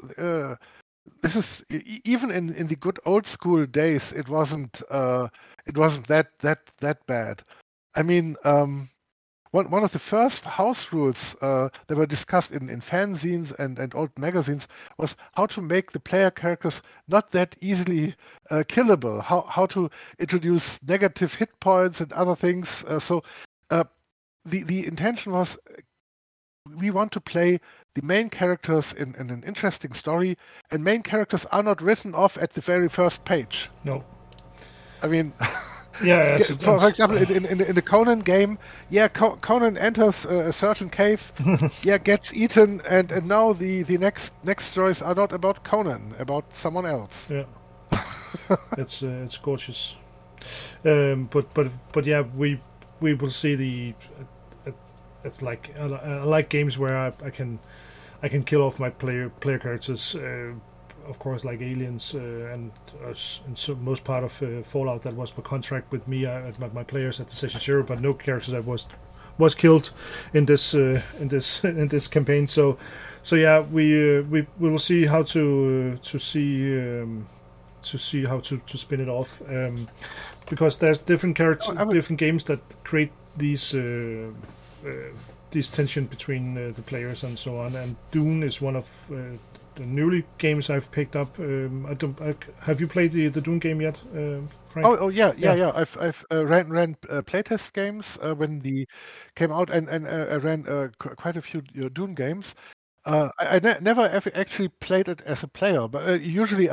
Speaker 2: even in the good old school days, it wasn't that bad. I mean, one of the first house rules that were discussed in fanzines and old magazines was how to make the player characters not that easily killable, how to introduce negative hit points and other things. So the intention was we want to play the main characters in an interesting story, and main characters are not written off at the very first page.
Speaker 1: No.
Speaker 2: I mean,
Speaker 1: yeah.
Speaker 2: For example, in the Conan game, Conan enters a certain cave, gets eaten, and now the next stories are not about Conan, about someone else.
Speaker 1: Yeah, it's gorgeous. But yeah, we will see the. It's like I like games where I can kill off my player characters. Of course, like Aliens and so most part of Fallout, that was per contract with me, my players at the Session Zero, but no characters that was was killed in this in this campaign. So yeah, we will see how to see how to spin it off, because there's different characters, different games that create these tension between the players and so on. And Dune is one of the newly games I've picked up. Have you played the Dune game yet, Frank?
Speaker 2: Oh yeah. I've ran playtest games when the came out, and I ran quite a few Dune games. I never actually played it as a player, but usually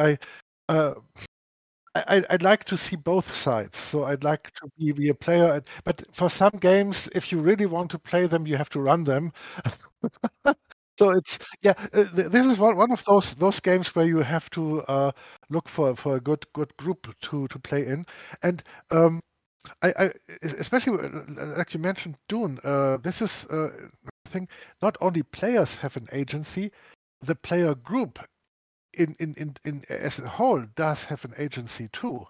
Speaker 2: I'd like to see both sides. So I'd like to be a player, but for some games, if you really want to play them, you have to run them. So it's this is one of those games where you have to look for a good group to play in, and I especially like you mentioned Dune. This is I think not only players have an agency, the player group in as a whole does have an agency too.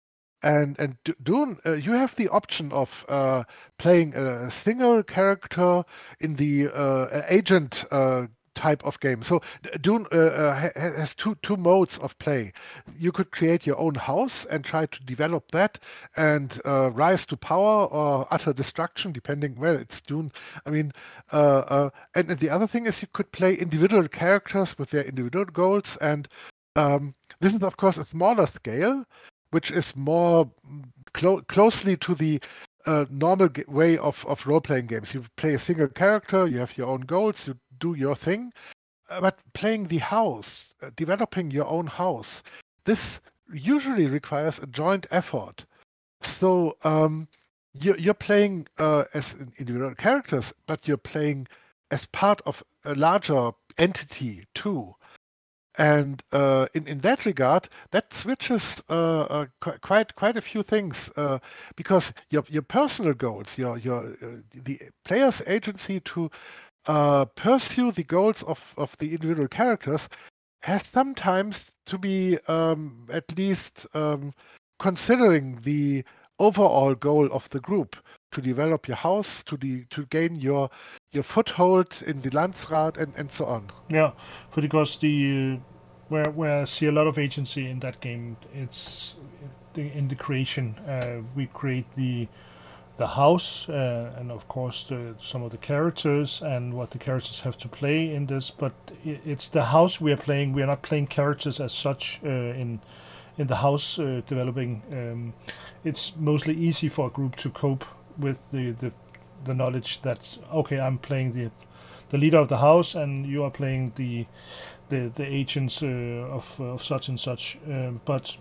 Speaker 2: And Dune, you have the option of playing a single character in the agent type of game. So Dune has two modes of play. You could create your own house and try to develop that and rise to power or utter destruction, depending. Well, it's Dune. I mean, and the other thing is you could play individual characters with their individual goals. And this is, of course, a smaller scale, which is more closely to the normal way of role-playing games. You play a single character, you have your own goals, you do your thing. But playing the house, developing your own house, this usually requires a joint effort. So you're playing as individual characters, but you're playing as part of a larger entity too. And in that regard, that switches quite a few things, because your personal goals, the player's agency to pursue the goals of the individual characters has sometimes to be at least considering the overall goal of the group, to develop your house, to gain your foothold in the Landsrat and so on.
Speaker 1: Yeah, because where I see a lot of agency in that game, it's in the creation. We create the house, and of course some of the characters and what the characters have to play in this. But it's the house we are playing. We are not playing characters as such in the house developing. It's mostly easy for a group to cope with the knowledge that, okay, I'm playing the leader of the house and you are playing the agents of such and such. But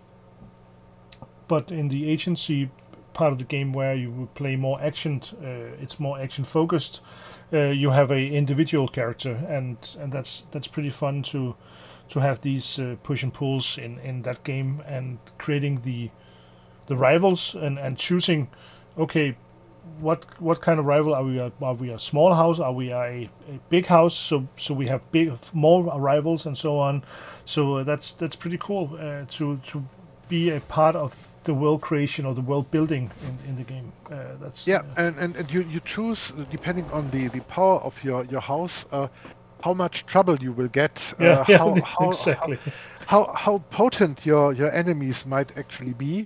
Speaker 1: in the agency part of the game where you would play more action, it's more action focused. You have a individual character, and that's pretty fun to have these push and pulls in that game, and creating the rivals and choosing, okay, what kind of rival are we? Are we a small house? Are we a big house? So we have more rivals and so on. So that's pretty cool to be a part of the world creation or the world building in the game.
Speaker 2: And you choose, depending on the power of your house, how much trouble you will get.
Speaker 1: Exactly.
Speaker 2: How potent your enemies might actually be.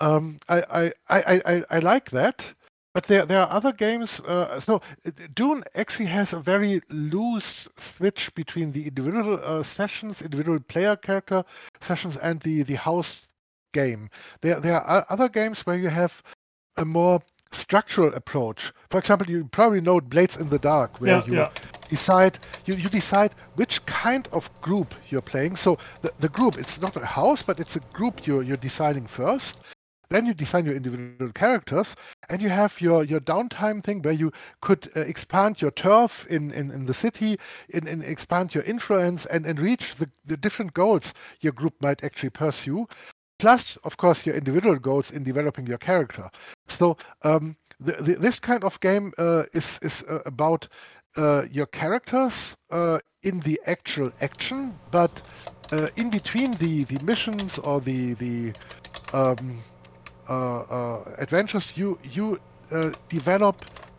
Speaker 2: I like that. But there are other games. So Dune actually has a very loose switch between the individual sessions, individual player character sessions, and the house game. There are other games where you have a more structural approach. For example, you probably know Blades in the Dark, where you decide which kind of group you're playing. So the group, it's not a house, but it's a group you're deciding first. Then you design your individual characters, and you have your downtime thing where you could expand your turf in the city, and expand your influence and reach the different goals your group might actually pursue. Plus, of course, your individual goals in developing your character. So this kind of game is about your characters in the actual action, but in between the missions or the adventures, you develop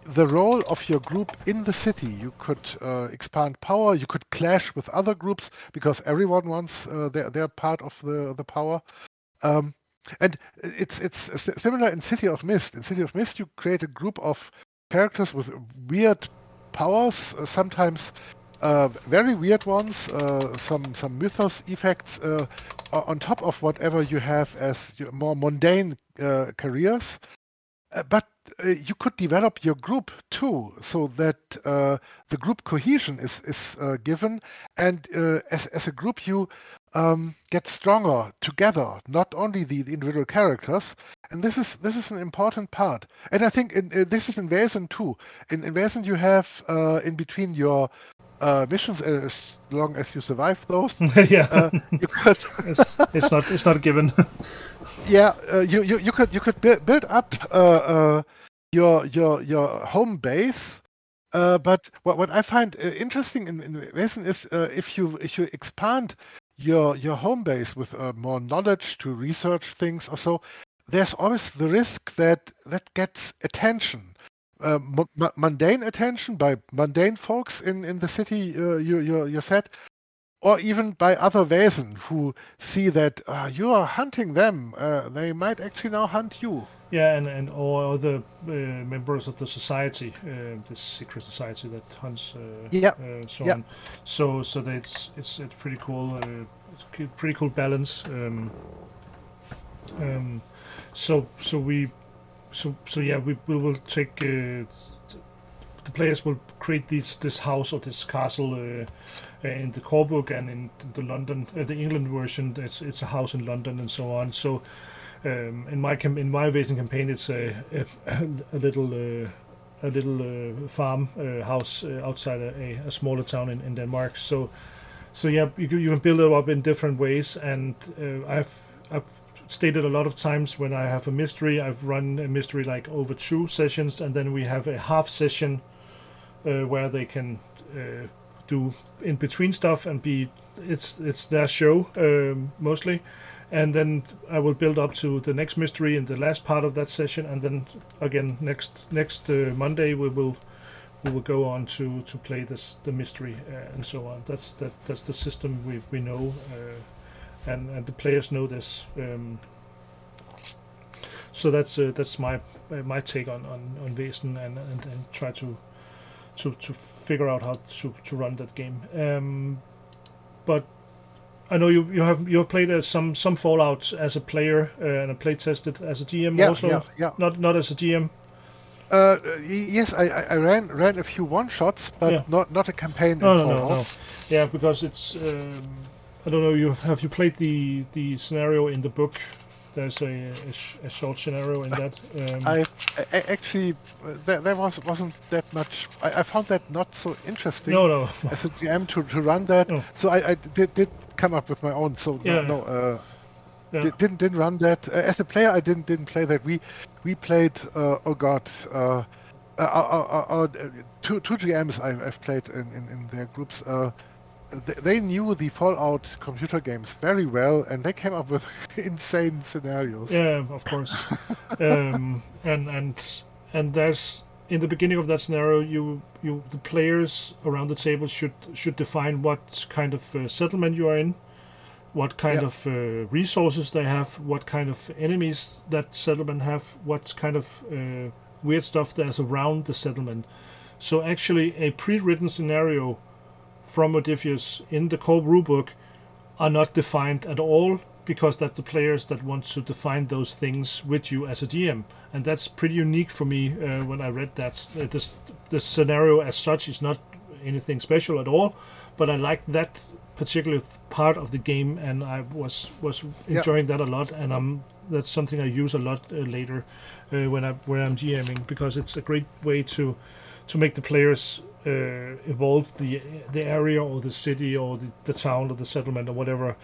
Speaker 2: the role of your group in the city. You could expand power. You could clash with other groups because everyone wants their part of the power. And it's similar in City of Mist. In City of Mist, you create a group of characters with weird powers, sometimes very weird ones, some mythos effects on top of whatever you have as your more mundane careers. But you could develop your group too, so that the group cohesion is given, and as a group you get stronger together, not only the individual characters. And this is an important part. And I think this is in Wesen too. In Wesen you have in between your missions, as long as you survive those,
Speaker 1: Yeah.
Speaker 2: you could.
Speaker 1: it's not a given.
Speaker 2: Yeah, you could build up your home base. But what I find interesting in Wesen is if you expand your home base with more knowledge to research things or so, there's always the risk that gets attention, mundane attention by mundane folks in the city you said, or even by other Wesen who see that you are hunting them. They might actually now hunt you.
Speaker 1: Yeah, and all other members of the society, this secret society that hunts, so on. So that it's pretty cool. It's pretty cool balance. So we will take. The players will create this house or this castle in the core book, and in the London, the England version, it's a house in London and so on. So in my Wesen campaign, it's a little farm house outside a smaller town in Denmark. So yeah, you can build it up in different ways, and I've stated a lot of times when I have a mystery, I've run a mystery like over 2 sessions, and then we have a half session where they can do in between stuff and it's their show mostly, and then I will build up to the next mystery in the last part of that session, and then again next Monday we will go on to play the mystery and so on. That's the system we know, and the players know this. So that's my take on Wesen, and try to figure out how to run that game. But I know you have played some Fallout as a player and play tested as a GM also.
Speaker 2: Yeah.
Speaker 1: Not as a GM.
Speaker 2: Yes, I ran a few one shots, but not a campaign.
Speaker 1: No. Yeah, because it's I don't know. Have you played the scenario in the book? There's a short scenario in that.
Speaker 2: I actually there wasn't that much. I found that not so interesting.
Speaker 1: No.
Speaker 2: As a GM to run that, so I did come up with my own. So didn't run that as a player. I didn't play that. We played. Our two GMs I've played in their groups. They knew the Fallout computer games very well, and they came up with insane scenarios.
Speaker 1: Yeah, of course. And there's in the beginning of that scenario, the players around the table should define what kind of settlement you are in, what kind of resources they have, what kind of enemies that settlement have, what kind of weird stuff there's around the settlement. So actually, a pre-written scenario from Modiphius in the core rulebook are not defined at all, because that's the players that want to define those things with you as a GM, and that's pretty unique for me. When I read that, the scenario as such is not anything special at all, but I like that particular part of the game, and I was enjoying that a lot, and that's something I use a lot later when I'm GMing, because it's a great way to make the players evolve the area or the city or the town or the settlement or whatever,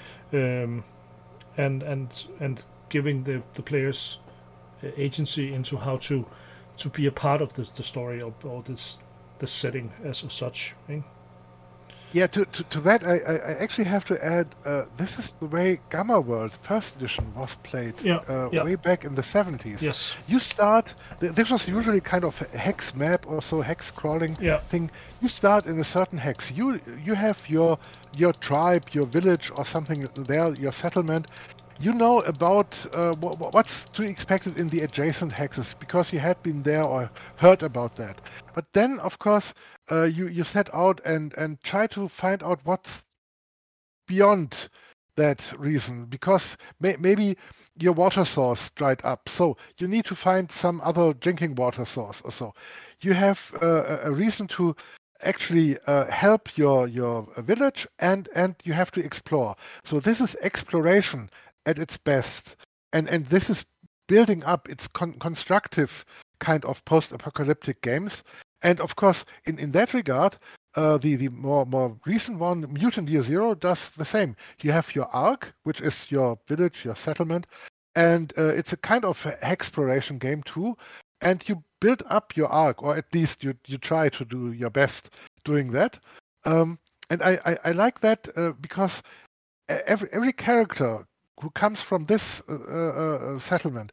Speaker 1: and giving the players agency into how to be a part of the story or the setting as such. Right?
Speaker 2: Yeah, to that, I actually have to add, this is the way Gamma World First Edition was played way back in the 70s.
Speaker 1: Yes.
Speaker 2: You start, this was usually kind of a hex map or so, hex crawling thing. You start in a certain hex. You have your tribe, your village or something there, your settlement. You know about what's to be expected in the adjacent hexes because you had been there or heard about that. But then, of course, you set out and try to find out what's beyond that reason, because maybe your water source dried up, so you need to find some other drinking water source or so. You have a reason to actually help your village, and you have to explore. So this is exploration at its best, and this is building up. It's constructive kind of post-apocalyptic games, and of course in that regard the more recent one, Mutant Year Zero, does the same. You have your arc, which is your village, your settlement, and it's a kind of exploration game too, and you build up your arc, or at least you try to do your best doing that. And I like that because every character who comes from this settlement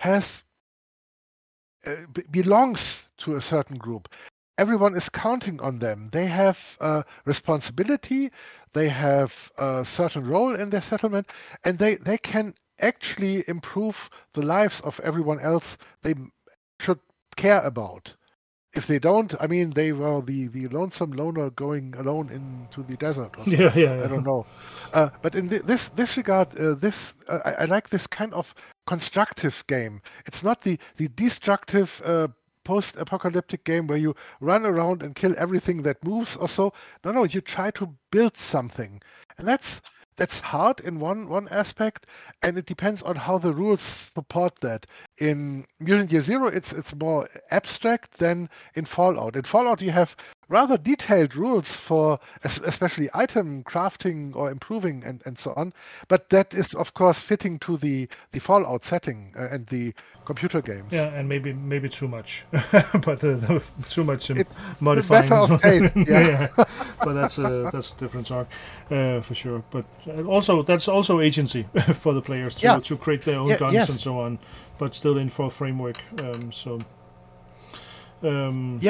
Speaker 2: belongs to a certain group. Everyone is counting on them. They have responsibility. They have a certain role in their settlement, and they can actually improve the lives of everyone else they should care about. If they don't, I mean, they were the lonesome loner going alone into the desert. Or
Speaker 1: yeah.
Speaker 2: I don't know. But in this regard, I like this kind of constructive game. It's not the destructive post-apocalyptic game where you run around and kill everything that moves or so. No, you try to build something, and that's hard in one aspect, and it depends on how the rules support that. In Mutant Year Zero, it's more abstract than in Fallout. In Fallout, you have rather detailed rules for especially item crafting or improving and so on, but that is of course fitting to the Fallout setting and the computer games.
Speaker 1: Yeah, and maybe too much, but too much modifying.
Speaker 2: Yeah.
Speaker 1: But that's a different talk for sure. But that's also agency for the players to create their own guns and so on, but still in for a framework.
Speaker 2: And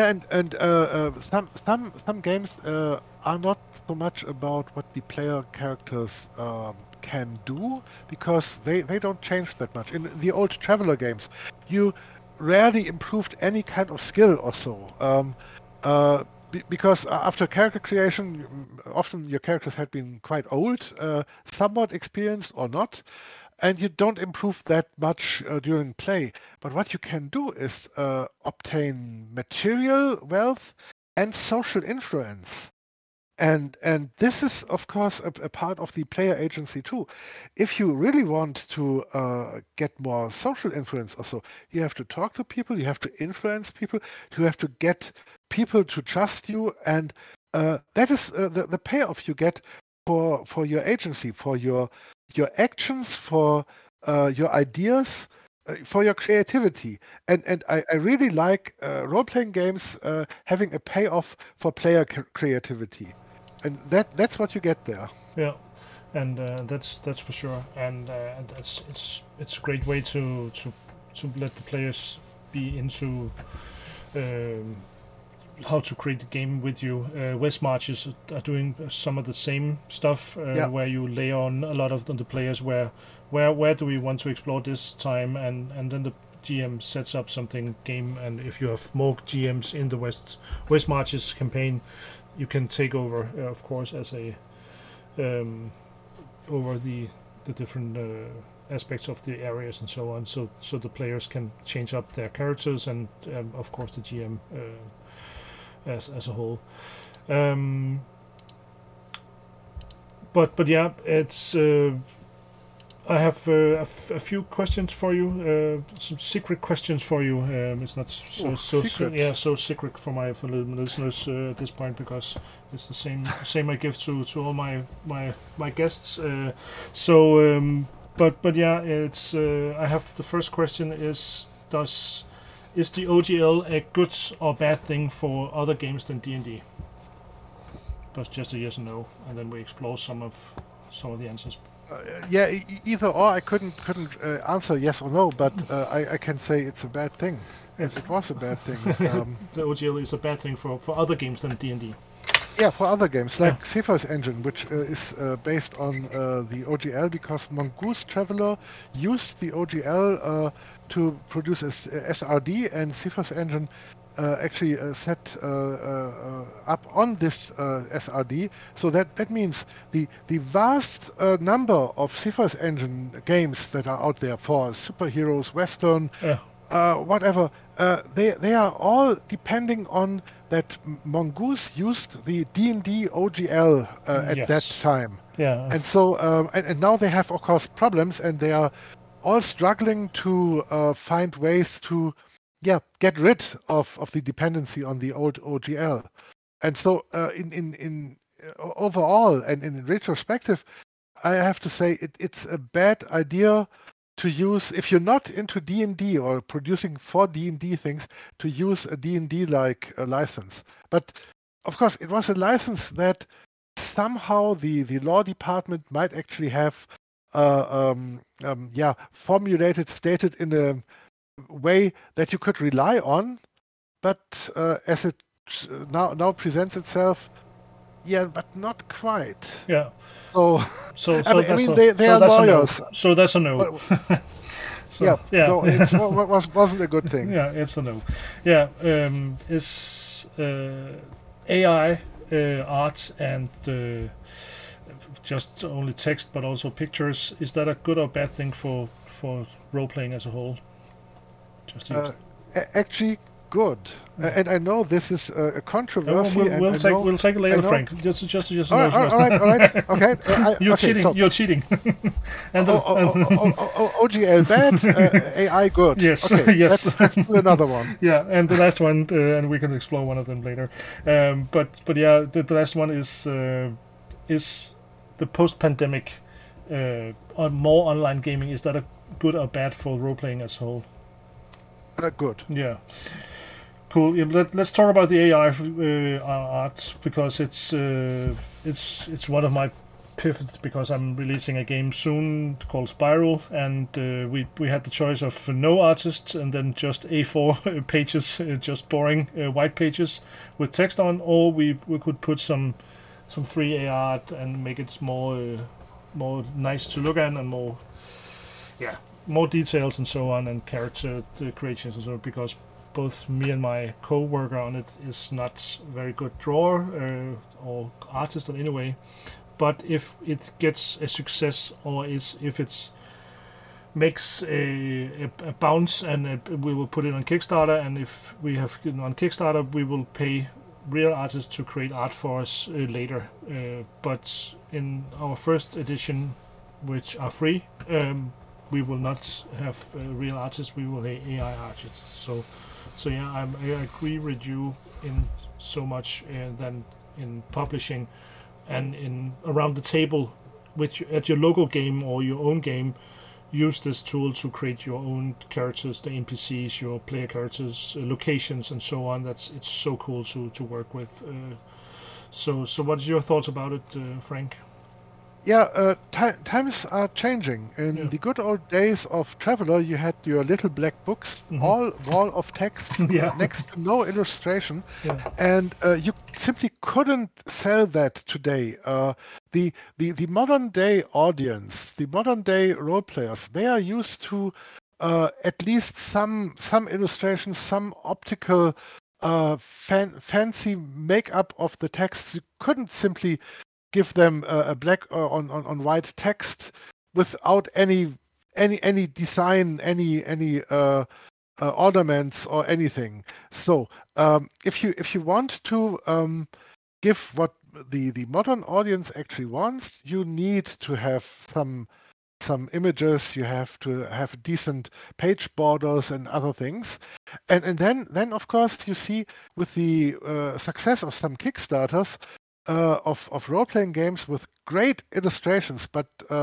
Speaker 2: some games are not so much about what the player characters can do, because they don't change that much. In the old Traveller games, you rarely improved any kind of skill or so. Because after character creation, often your characters had been quite old, somewhat experienced or not, and you don't improve that much during play. But what you can do is obtain material wealth and social influence. And this is, of course, a part of the player agency too. If you really want to get more social influence also, you have to talk to people, you have to influence people, you have to get people to trust you, and that is the payoff you get for your agency, for your actions, for your ideas, for your creativity. And I really like role-playing games having a payoff for player creativity. And that's what you get there.
Speaker 1: Yeah, and that's for sure. And it's a great way to let the players be into how to create the game with you. West Marches are doing some of the same stuff where you lay on a lot of the players where do we want to explore this time, and then the GM sets up something game, and if you have more GMs in the West Marches campaign, you can take over, of course, as a over the different aspects of the areas and so on. So the players can change up their characters, and of course the GM as a whole. But yeah, it's. I have a few questions for you, some secret questions for you. It's not so secret for the listeners at this point, because it's the same I give to all my guests. But yeah, it's. I have the first question is the OGL a good or bad thing for other games than D&D? discuss just a yes and no, and then we explore some of the answers.
Speaker 2: Either or. I couldn't answer yes or no, but I can say it's a bad thing. It was a bad thing.
Speaker 1: The OGL is a bad thing for other games than D&D.
Speaker 2: Yeah, for other games like Cephas Engine, which is based on the OGL, because Mongoose Traveler used the OGL to produce a SRD, and Cephas Engine actually set up on this SRD. So that means the vast number of Cephas Engine games that are out there for superheroes, Western, whatever, they are all depending on that Mongoose used the D&D OGL at that time.
Speaker 1: Yeah.
Speaker 2: And so, and now they have, of course, problems, and they are all struggling to find ways to get rid of the dependency on the old OGL. And so in overall and in retrospective, I have to say it's a bad idea to use, if you're not into D&D or producing for D&D things, to use a D&D-like license. But of course, it was a license that somehow the law department might actually have formulated, stated in a way that you could rely on, but as it now presents itself, but not quite.
Speaker 1: Yeah.
Speaker 2: So
Speaker 1: I
Speaker 2: mean, they are lawyers.
Speaker 1: So that's a no.
Speaker 2: No, it wasn't a good thing.
Speaker 1: Yeah, it's a no. Yeah, is AI art and just only text, but also pictures, is that a good or bad thing for role playing as a whole? Just
Speaker 2: actually, good. And I know this is a controversy.
Speaker 1: We'll take it later, Frank. Just
Speaker 2: all right. Okay.
Speaker 1: You're cheating. You're cheating.
Speaker 2: OGL bad, AI good.
Speaker 1: Yes.
Speaker 2: Okay,
Speaker 1: yes.
Speaker 2: Let's do another one.
Speaker 1: Yeah, and the last one, and we can explore one of them later. But yeah, the last one is the post-pandemic more online gaming. Is that a good or bad for role playing as a whole?
Speaker 2: Good.
Speaker 1: Yeah. Cool. Yeah, let's talk about the AI art, because it's one of my pivots, because I'm releasing a game soon called Spiral, and we had the choice of no artists and then just A4 pages, just boring white pages with text on, or we could put some free AI art and make it more nice to look at and more details and so on, and character creations and so on, because both me and my co-worker on it is not very good drawer or artist in any way. But if it gets a success, or if it makes a bounce, and we will put it on Kickstarter, and if we have on Kickstarter, we will pay real artists to create art for us later. But in our first edition, which are free, we will not have real artists. We will have AI artists. So yeah, I agree with you in so much than in publishing and in around the table, which at your local game or your own game, use this tool to create your own characters, the NPCs, your player characters, locations, and so on. It's so cool to work with. So what is your thoughts about it, Frank?
Speaker 2: Yeah, times are changing. In the good old days of Traveller, you had your little black books, all wall of text, next to no illustration, and you simply couldn't sell that today. The modern day audience, the modern day role players, they are used to at least some illustrations, some optical fancy makeup of the text. You couldn't simply give them a black on white text without any design, any ornaments or anything. So if you want to give what the modern audience actually wants, you need to have some images. You have to have decent page borders and other things, and then of course you see with the success of some Kickstarters. Of role-playing games with great illustrations, but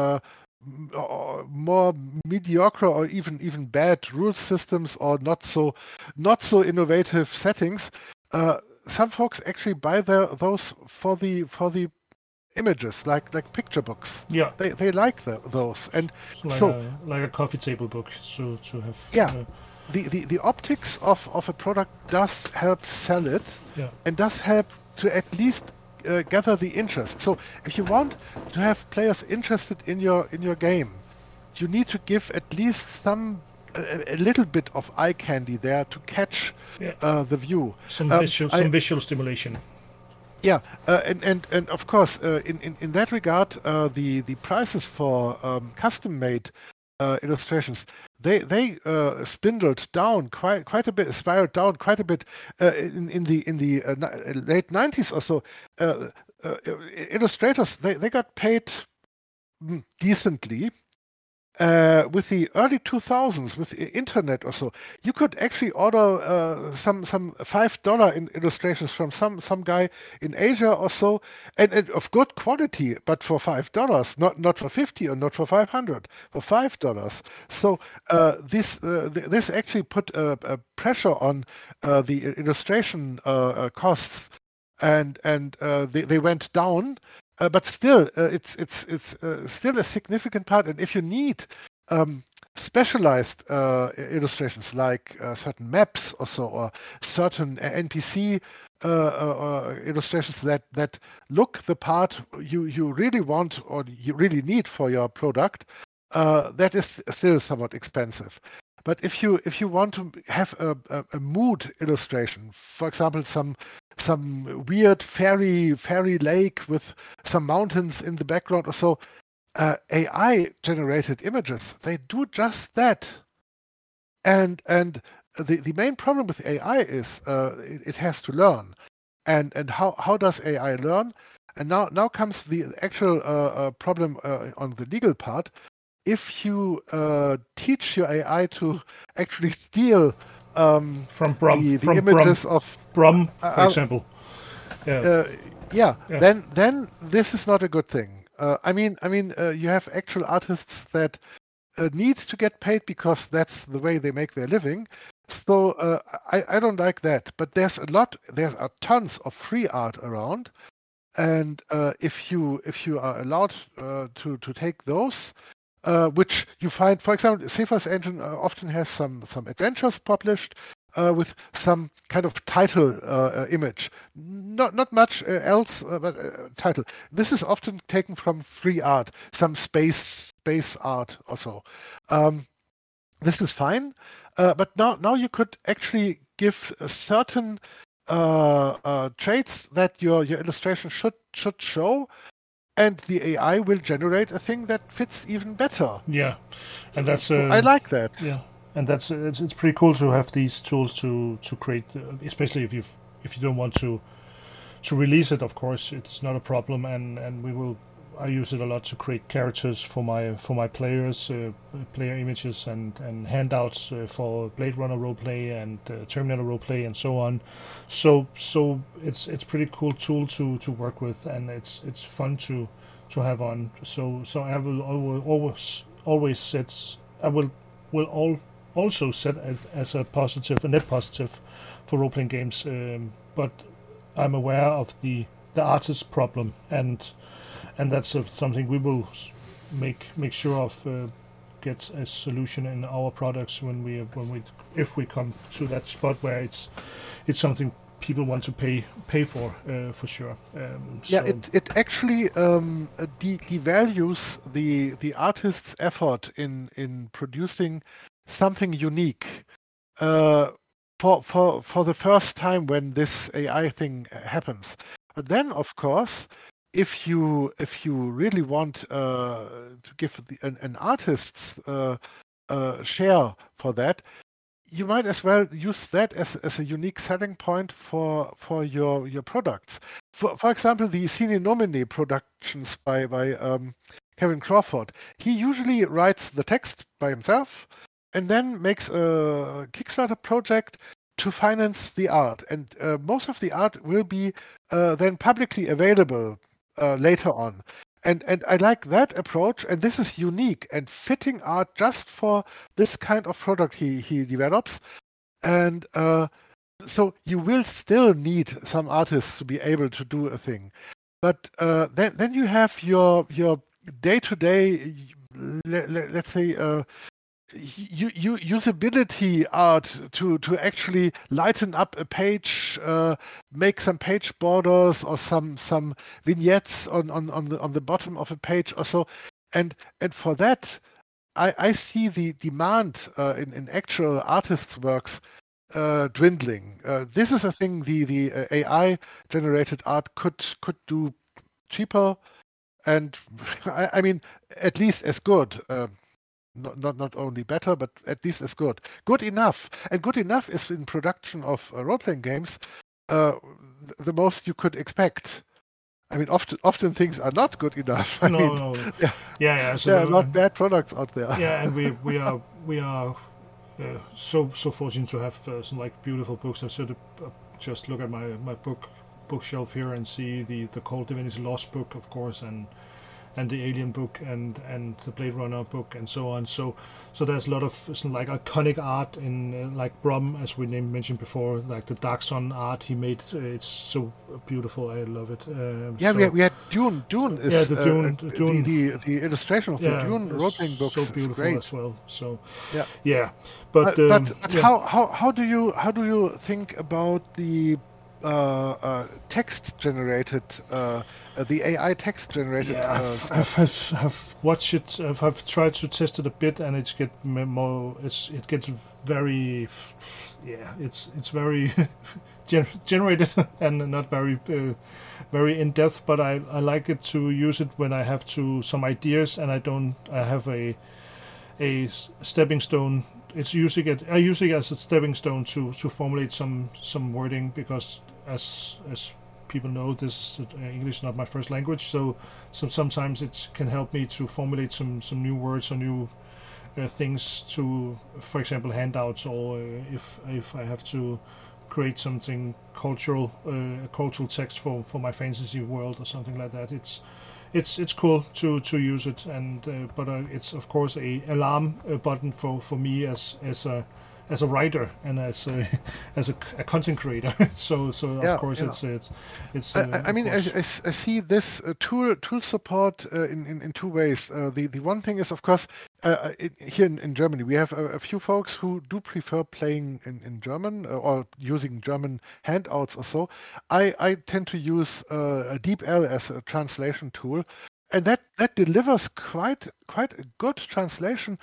Speaker 2: more mediocre or even bad rule systems, or not so innovative settings. some folks actually buy those for the images, like picture books.
Speaker 1: Yeah,
Speaker 2: They like those, and
Speaker 1: it's
Speaker 2: so
Speaker 1: like a coffee table book to have.
Speaker 2: yeah, the optics of a product does help sell it,
Speaker 1: Yeah.
Speaker 2: and does help to at least gather the interest. So if you want to have players interested in your game, you need to give at least a little bit of eye candy there to catch
Speaker 1: Yeah.
Speaker 2: the view.
Speaker 1: Some visual stimulation.
Speaker 2: Yeah, and of course, in that regard, the prices for custom-made illustrations, they spiraled down quite a bit, in the late 90s or so. Illustrators they got paid decently. With the early 2000s, with the internet or so, you could actually order some $5 in illustrations from some guy in Asia or so, and of good quality, but for $5, not for 50 or not for 500, for $5. So this actually put a pressure on the illustration costs, and they went down. But still, it's still a significant part. And if you need specialized illustrations like certain maps or so, or certain NPC illustrations that look the part you really want or you really need for your product, that is still somewhat expensive. But if you want to have a mood illustration, for example, some weird fairy lake with some mountains in the background or so, AI generated images, they do just that. And the main problem with AI is it has to learn. And how does AI learn? And now comes the actual problem on the legal part. If you teach your AI to actually steal
Speaker 1: from Brum,
Speaker 2: the images of
Speaker 1: Brum, for example,
Speaker 2: then this is not a good thing. I mean, you have actual artists that need to get paid because that's the way they make their living. So I don't like that. But there's tons of free art around, and if you are allowed to take those. Which you find, for example, Cephas Engine often has some adventures published with some kind of title image. Not much else, but title. This is often taken from free art, some space art or so. This is fine, but now you could actually give certain traits that your illustration should show. And the AI will generate a thing that fits even better.
Speaker 1: Yeah, and that's
Speaker 2: I like that.
Speaker 1: Yeah, and that's it's pretty cool to have these tools to create, especially if you don't want to release it. Of course, it's not a problem, and I use it a lot to create characters for my players, player images and handouts for Blade Runner roleplay and Terminator roleplay and so on. So it's pretty cool tool to work with, and it's fun to have on. So I will always set also set as a positive, a net positive for role playing games. But I'm aware of the artist's problem, and that's something we will make sure of get a solution in our products if we come to that spot where it's something people want to pay for sure.
Speaker 2: It actually devalues the artist's effort in producing something unique. For the first time when this AI thing happens. But then, of course, if you really want to give an artist's share for that, you might as well use that as a unique selling point for your products. For example, the Sine Nomine productions by Kevin Crawford. He usually writes the text by himself and then makes a Kickstarter project to finance the art. And most of the art will be then publicly available later on. And I like that approach, and this is unique and fitting art just for this kind of product he develops. And so you will still need some artists to be able to do a thing, but then you have your day-to-day, let's say, usability art to actually lighten up a page, make some page borders or some vignettes on the bottom of a page or so, and for that, I see the demand in actual artists' works dwindling. This is a thing the AI generated art could do cheaper, and I mean at least as good. Not only better, but at least as good. Good enough. And good enough is in production of role-playing games the most you could expect. I mean, often things are not good enough.
Speaker 1: No. Yeah. So
Speaker 2: there are not bad products out there.
Speaker 1: Yeah, and we are so fortunate to have some like beautiful books. I sort of just look at my bookshelf here and see the Cold Divinity Lost book, of course, and the Alien book and the Blade Runner book and so on. So there's a lot of some like iconic art in like Brom, as we mentioned before, like the Dark Sun art he made. It's so beautiful. I love it.
Speaker 2: We had Dune. Dune is
Speaker 1: Dune.
Speaker 2: The illustration of the Dune role-playing books
Speaker 1: so beautiful
Speaker 2: is great
Speaker 1: as well. So
Speaker 2: yeah.
Speaker 1: But
Speaker 2: how do you think about the text generated, the AI text generated?
Speaker 1: I've watched it. I've tried to test it a bit, and it gets very, it's very generated and not very very in depth. But I like it to use it when I have some ideas, and I have a stepping stone. I use it as a stepping stone to formulate some wording, because as people know, this English is not my first language, so sometimes it can help me to formulate some new words or new things to, for example, handouts, or if I have to create something cultural, a cultural text for my fantasy world or something like that. It's cool to use it, and but it's of course a alarm button for me as a writer and as a content creator. so of course it's.
Speaker 2: I mean, I see this tool support in two ways. The one thing is, of course, here in Germany we have a few folks who do prefer playing in German or using German handouts or so. I tend to use DeepL as a translation tool, and that delivers quite a good translation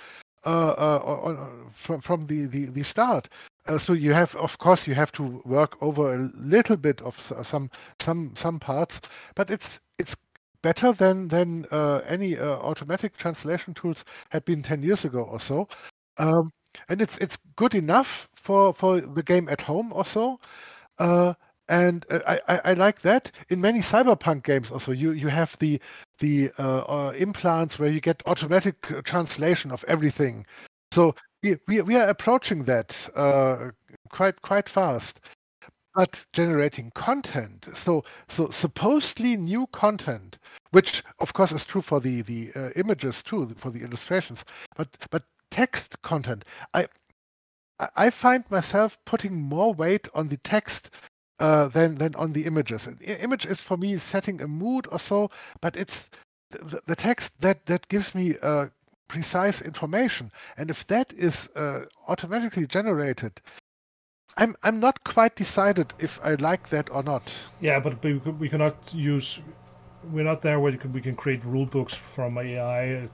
Speaker 2: from the start. So you have, of course, you have to work over a little bit of some parts, but it's better than any automatic translation tools had been 10 years ago or so, and it's good enough for the game at home or so. And I like that. In many cyberpunk games also, you have the implants where you get automatic translation of everything. So we are approaching that quite fast. But generating content, so supposedly new content, which of course is true for the images too, for the illustrations, but text content, I find myself putting more weight on the text than on the images. An image is for me setting a mood or so, but it's the text that gives me precise information. And if that is automatically generated, I'm not quite decided if I like that or not.
Speaker 1: Yeah, but we cannot use. We're not there where we can create rule books from AI.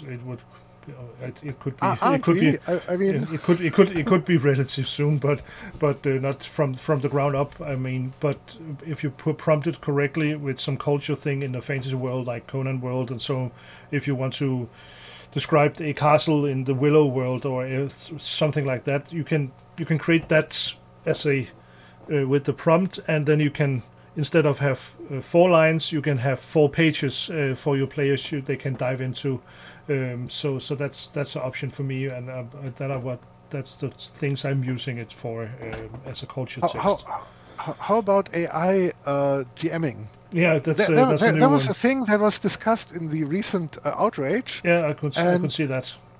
Speaker 1: It could be. I mean, it could be relative soon, but not from the ground up. I mean, but if you prompt it correctly with some culture thing in the fantasy world, like Conan world, and so if you want to describe a castle in the Willow world or something like that, you can create that as a with the prompt, and then you can, instead of have 4 lines, you can have 4 pages for your players. They can dive into. So that's an option for me, and that's the things I'm using it for as a culture text.
Speaker 2: How about AI GMing?
Speaker 1: Yeah, that's a new one.
Speaker 2: That was a thing that was discussed in the recent Outrage.
Speaker 1: Yeah, I could see that.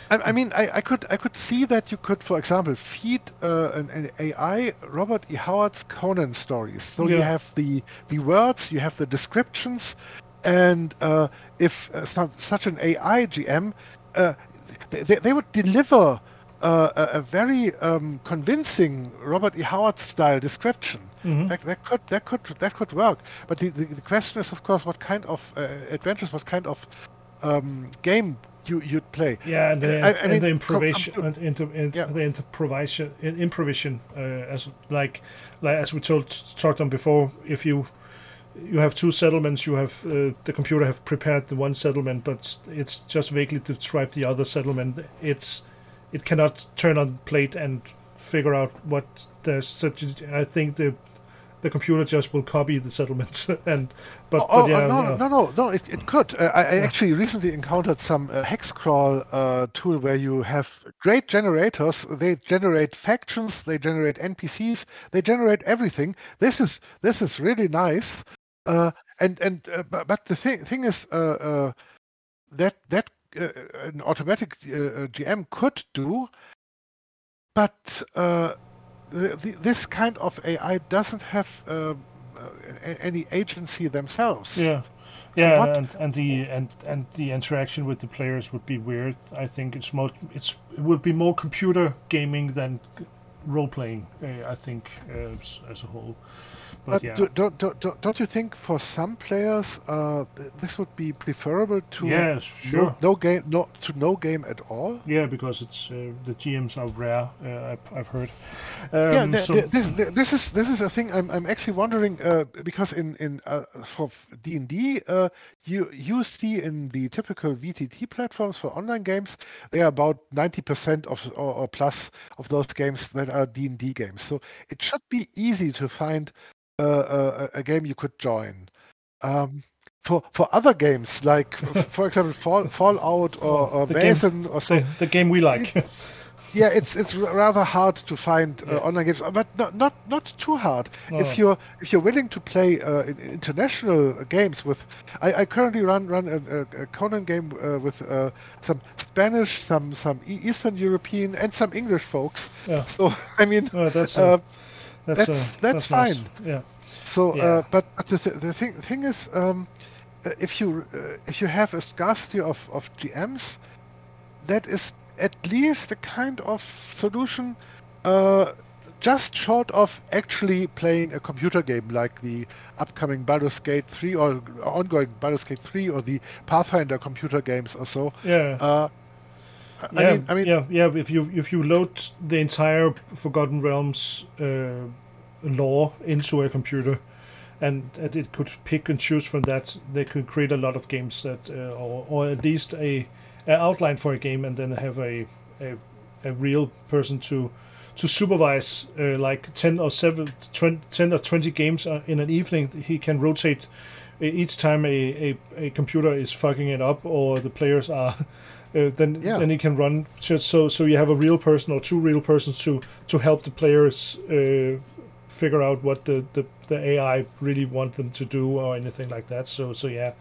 Speaker 2: I mean, I could see that you could, for example, feed an AI Robert E. Howard's Conan stories. So you have the words, you have the descriptions, and if such an AI GM, they would deliver a very convincing Robert E. Howard style description. That could work. But the question is, of course, what kind of adventures, what kind of game you'd play.
Speaker 1: Yeah, and the improvisation, improvisation, as we talked on before. If you have two settlements, you have the computer have prepared the one settlement, but it's just vaguely described the other settlement. It cannot turn on plate and figure out what there's such. I think the computer just will copy the settlements and
Speaker 2: no, it could. I actually recently encountered some hex crawl tool where you have great generators. They generate factions, they generate NPCs, they generate everything. This is really nice. But the thing is that an automatic GM could do, but this kind of AI doesn't have any agency themselves.
Speaker 1: Yeah, yeah, and the interaction with the players would be weird. I think it would be more computer gaming than role playing. I think as a whole. But yeah.
Speaker 2: Don't you think for some players this would be preferable to no game at all?
Speaker 1: Yeah, because it's the GMs are rare. I've heard.
Speaker 2: This is a thing I'm actually wondering because in for D&D you see in the typical VTT platforms for online games they are about 90% of or plus of those games that are D&D games. So it should be easy to find a game you could join. For other games, like for example Fallout or Basin or so,
Speaker 1: the game we like.
Speaker 2: It's rather hard to find online games, but not too hard. No. If you're willing to play international games with, I currently run a Conan game with some Spanish, some Eastern European, and some English folks. Yeah. So I mean, that's fine.
Speaker 1: Nice. Yeah.
Speaker 2: So, but the thing is, if you have a scarcity of GMs, that is at least a kind of solution, just short of actually playing a computer game like the upcoming Baldur's Gate 3 or ongoing Baldur's Gate 3 or the Pathfinder computer games or so.
Speaker 1: Yeah. I mean, if you load the entire Forgotten Realms lore into a computer, and it could pick and choose from that, they could create a lot of games that, or at least a outline for a game, and then have a real person to supervise like 10 or 20 games in an evening. He can rotate each time a computer is fucking it up or the players are. Then he can run just so you have a real person or two real persons to help the players figure out what the AI really want them to do or anything like that. So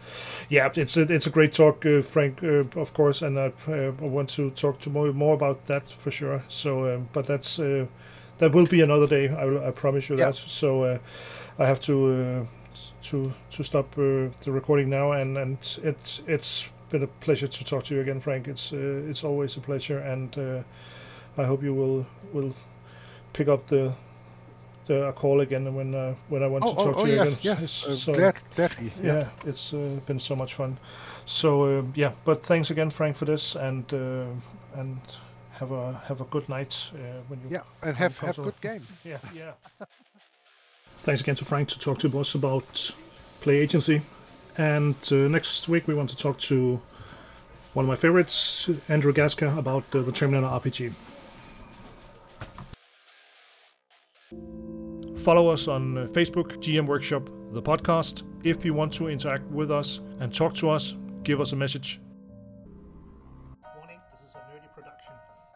Speaker 1: it's a great talk, Frank, of course, and I want to talk to more about that for sure. So but that will be another day. I promise you that. So I have to stop the recording now, and it's been a pleasure to talk to you again, Frank. It's always a pleasure, and I hope you will pick up the call again when I want to talk to you again.
Speaker 2: Yes.
Speaker 1: So,
Speaker 2: gladly.
Speaker 1: Yeah, it's been so much fun. So but thanks again, Frank, for this, and have a good night when you
Speaker 2: and have good games.
Speaker 1: Yeah. Thanks again to Frank to talk to us about Play Agency. And next week we want to talk to one of my favorites, Andrew Gaska, about the Terminator RPG. Follow us on Facebook, GM Workshop, the podcast. If you want to interact with us and talk to us, give us a message. Warning, this is a nerdy production.